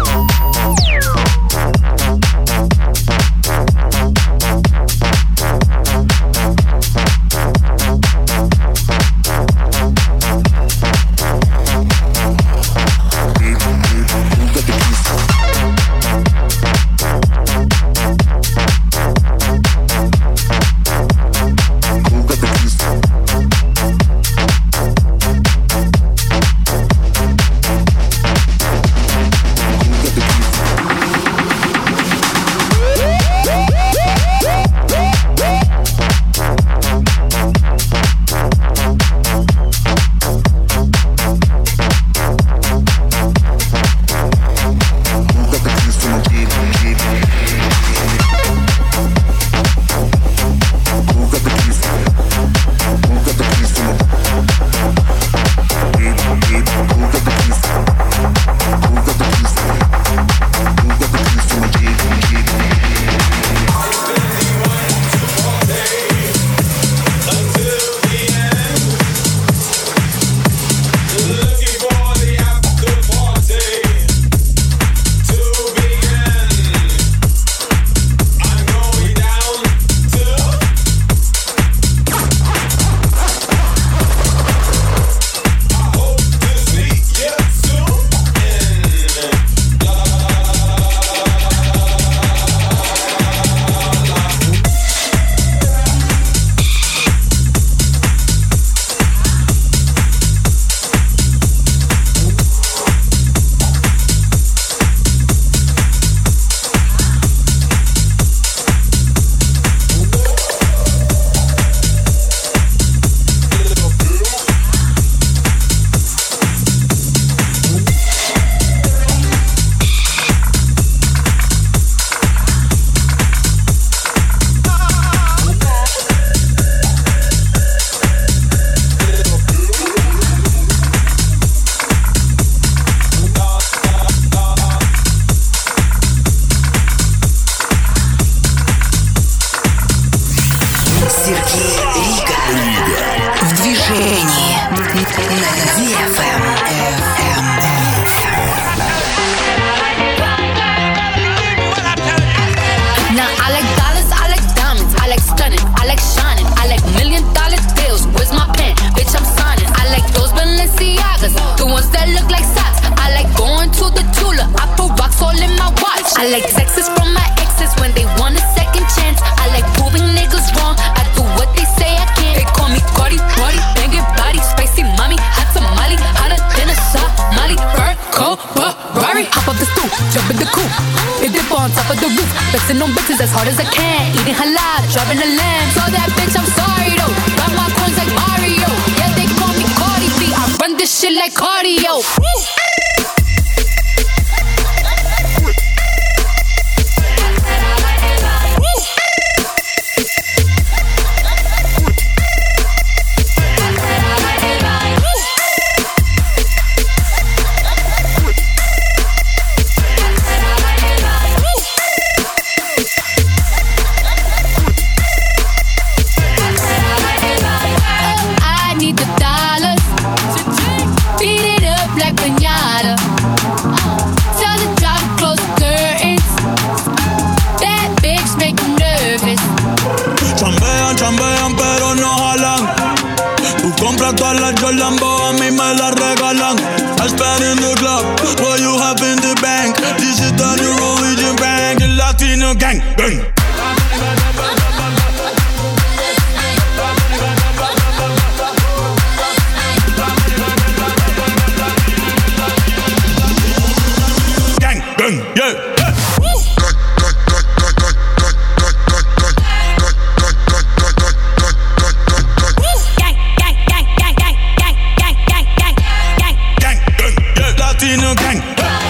I like texts from my exes when they want a second chance. I like proving niggas wrong. I do what they say I can't. They call me Cardi, Cardi, banging body, spicy mommy, hot tamale, hotter than a Somali. Virgo, Ferrari, hop up the stoop, jump in the coupe, hit dip on top of the roof, flexing on bitches as hard as I can, eating halal, driving a lamb. So that bitch, I'm sorry though, got my coins like Mario. Yeah, they call me Cardi B, I run this shit like cardio. chicks make you nervous. Chambean, chambean, pero no jalan. Tú compras todas las Jolambo, a mí me las regalan. I spend in the club, what you have in the bank. This is the new Norwegian bank, el Latino gang, gang. Gang, gang, yeah. Latino gang.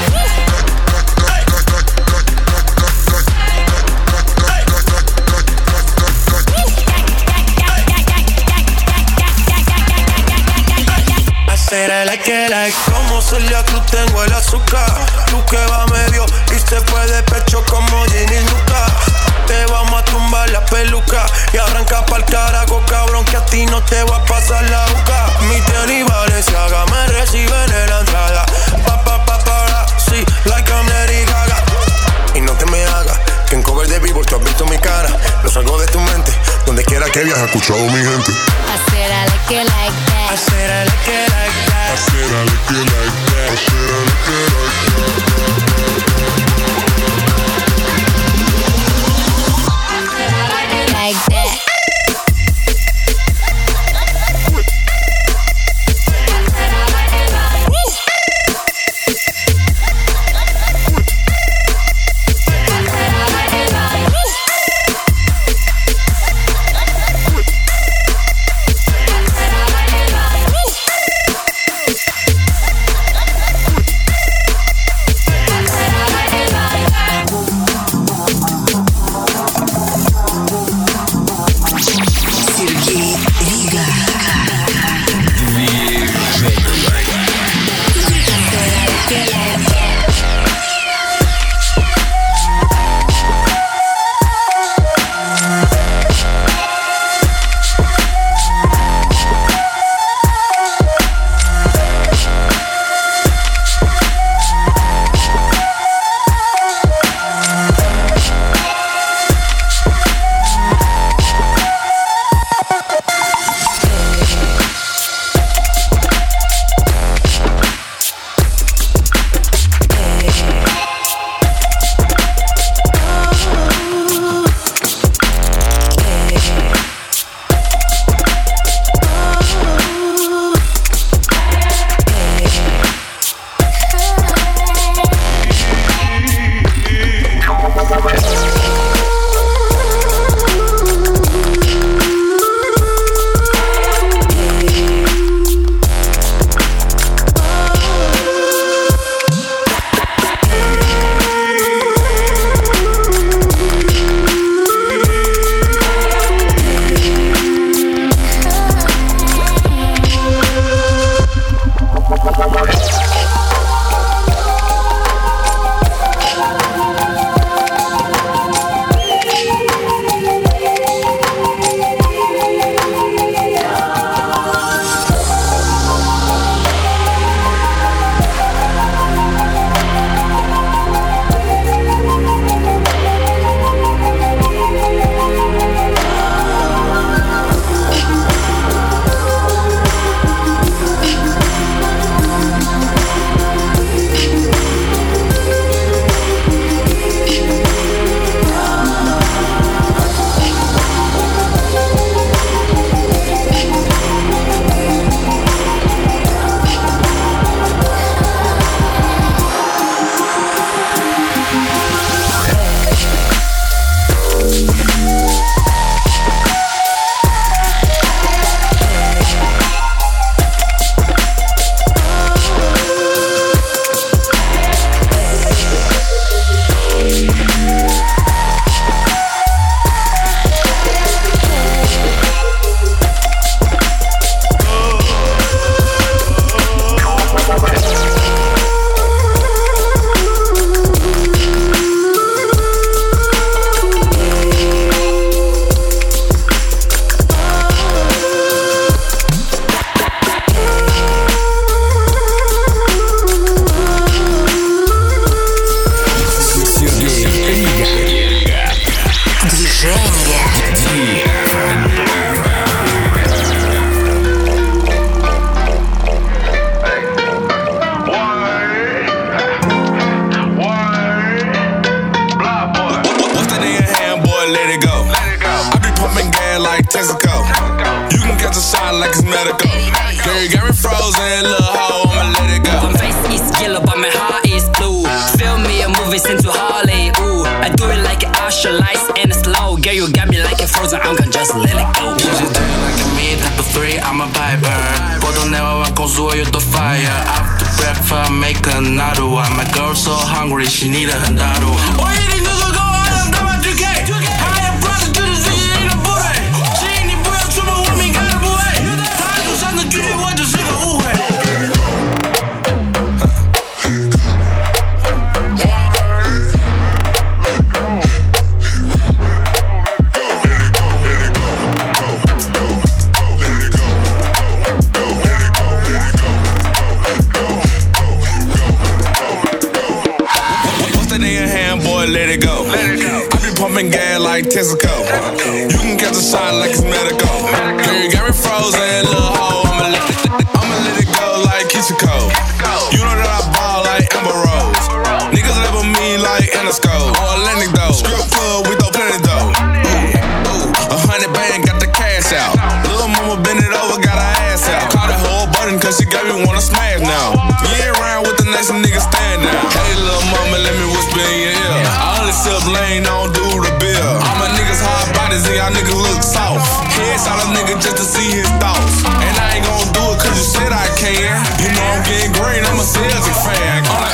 Like, como Celia Cruz tengo el azúcar. Tú que va medio y se fue de pecho como Ginny Luca. Te vamos a tumbar la peluca y arranca pa'l carajo, cabrón, que a ti no te va a pasar la boca. Mi tenis Balenciaga me reciben en la entrada. Sí, like I'm Lady Gaga. Y no te me hagas que en cover de Billboard tú has visto mi cara. Lo salgo de tu mente, donde quiera que viajes, escuchado mi gente. I said I like it like that. I said I like it like that. I said I like it like that. I said I like it like that. let it go. I be pumping gas like Texaco. You can catch a shot like it's medical. Girl, you got me frozen, little hoe, I'ma let it go. My face is yellow, but my heart is blue. Film me a movie into Holly, ooh. I do it like an Usher, lights and slow. Girl, you got me like a frozen, I'm gonna just let it go. You just do it like a me, type of 3, I'm a viper. Puedo never con su yo to fire. After breakfast, make another one. My girl so hungry, she need a handaro. Oh, you need to go out, I'm about 2K. I am brother to the city, ain't a boy. She ain't the boy, so my woman got a boy. I do something to you, what to say, ooh. Let it go. I be pumping gas like Texaco. You can catch a shot like it's medical. Girl, you got me frozen, little hoe. I'ma let it go like Kishiko. You know that I ball like Amber Rose. Niggas label me like Interscope or Atlantic though. Strip club, we throw plenty though. Ooh, 100 band, got the cash out. Little mama bend it over, got her ass out. Caught a whole button cause she got me wanna smash now. You ain't around with the nice niggas stand now. Hey little mama, let me whisper in your ear. Sip lane, don't do the bill. All my niggas hard bodies and y'all niggas look soft. Headshot a nigga just to see his thoughts. And I ain't gon' do it cause you said I can. You know I'm getting green, I'm a Celtic fan. All I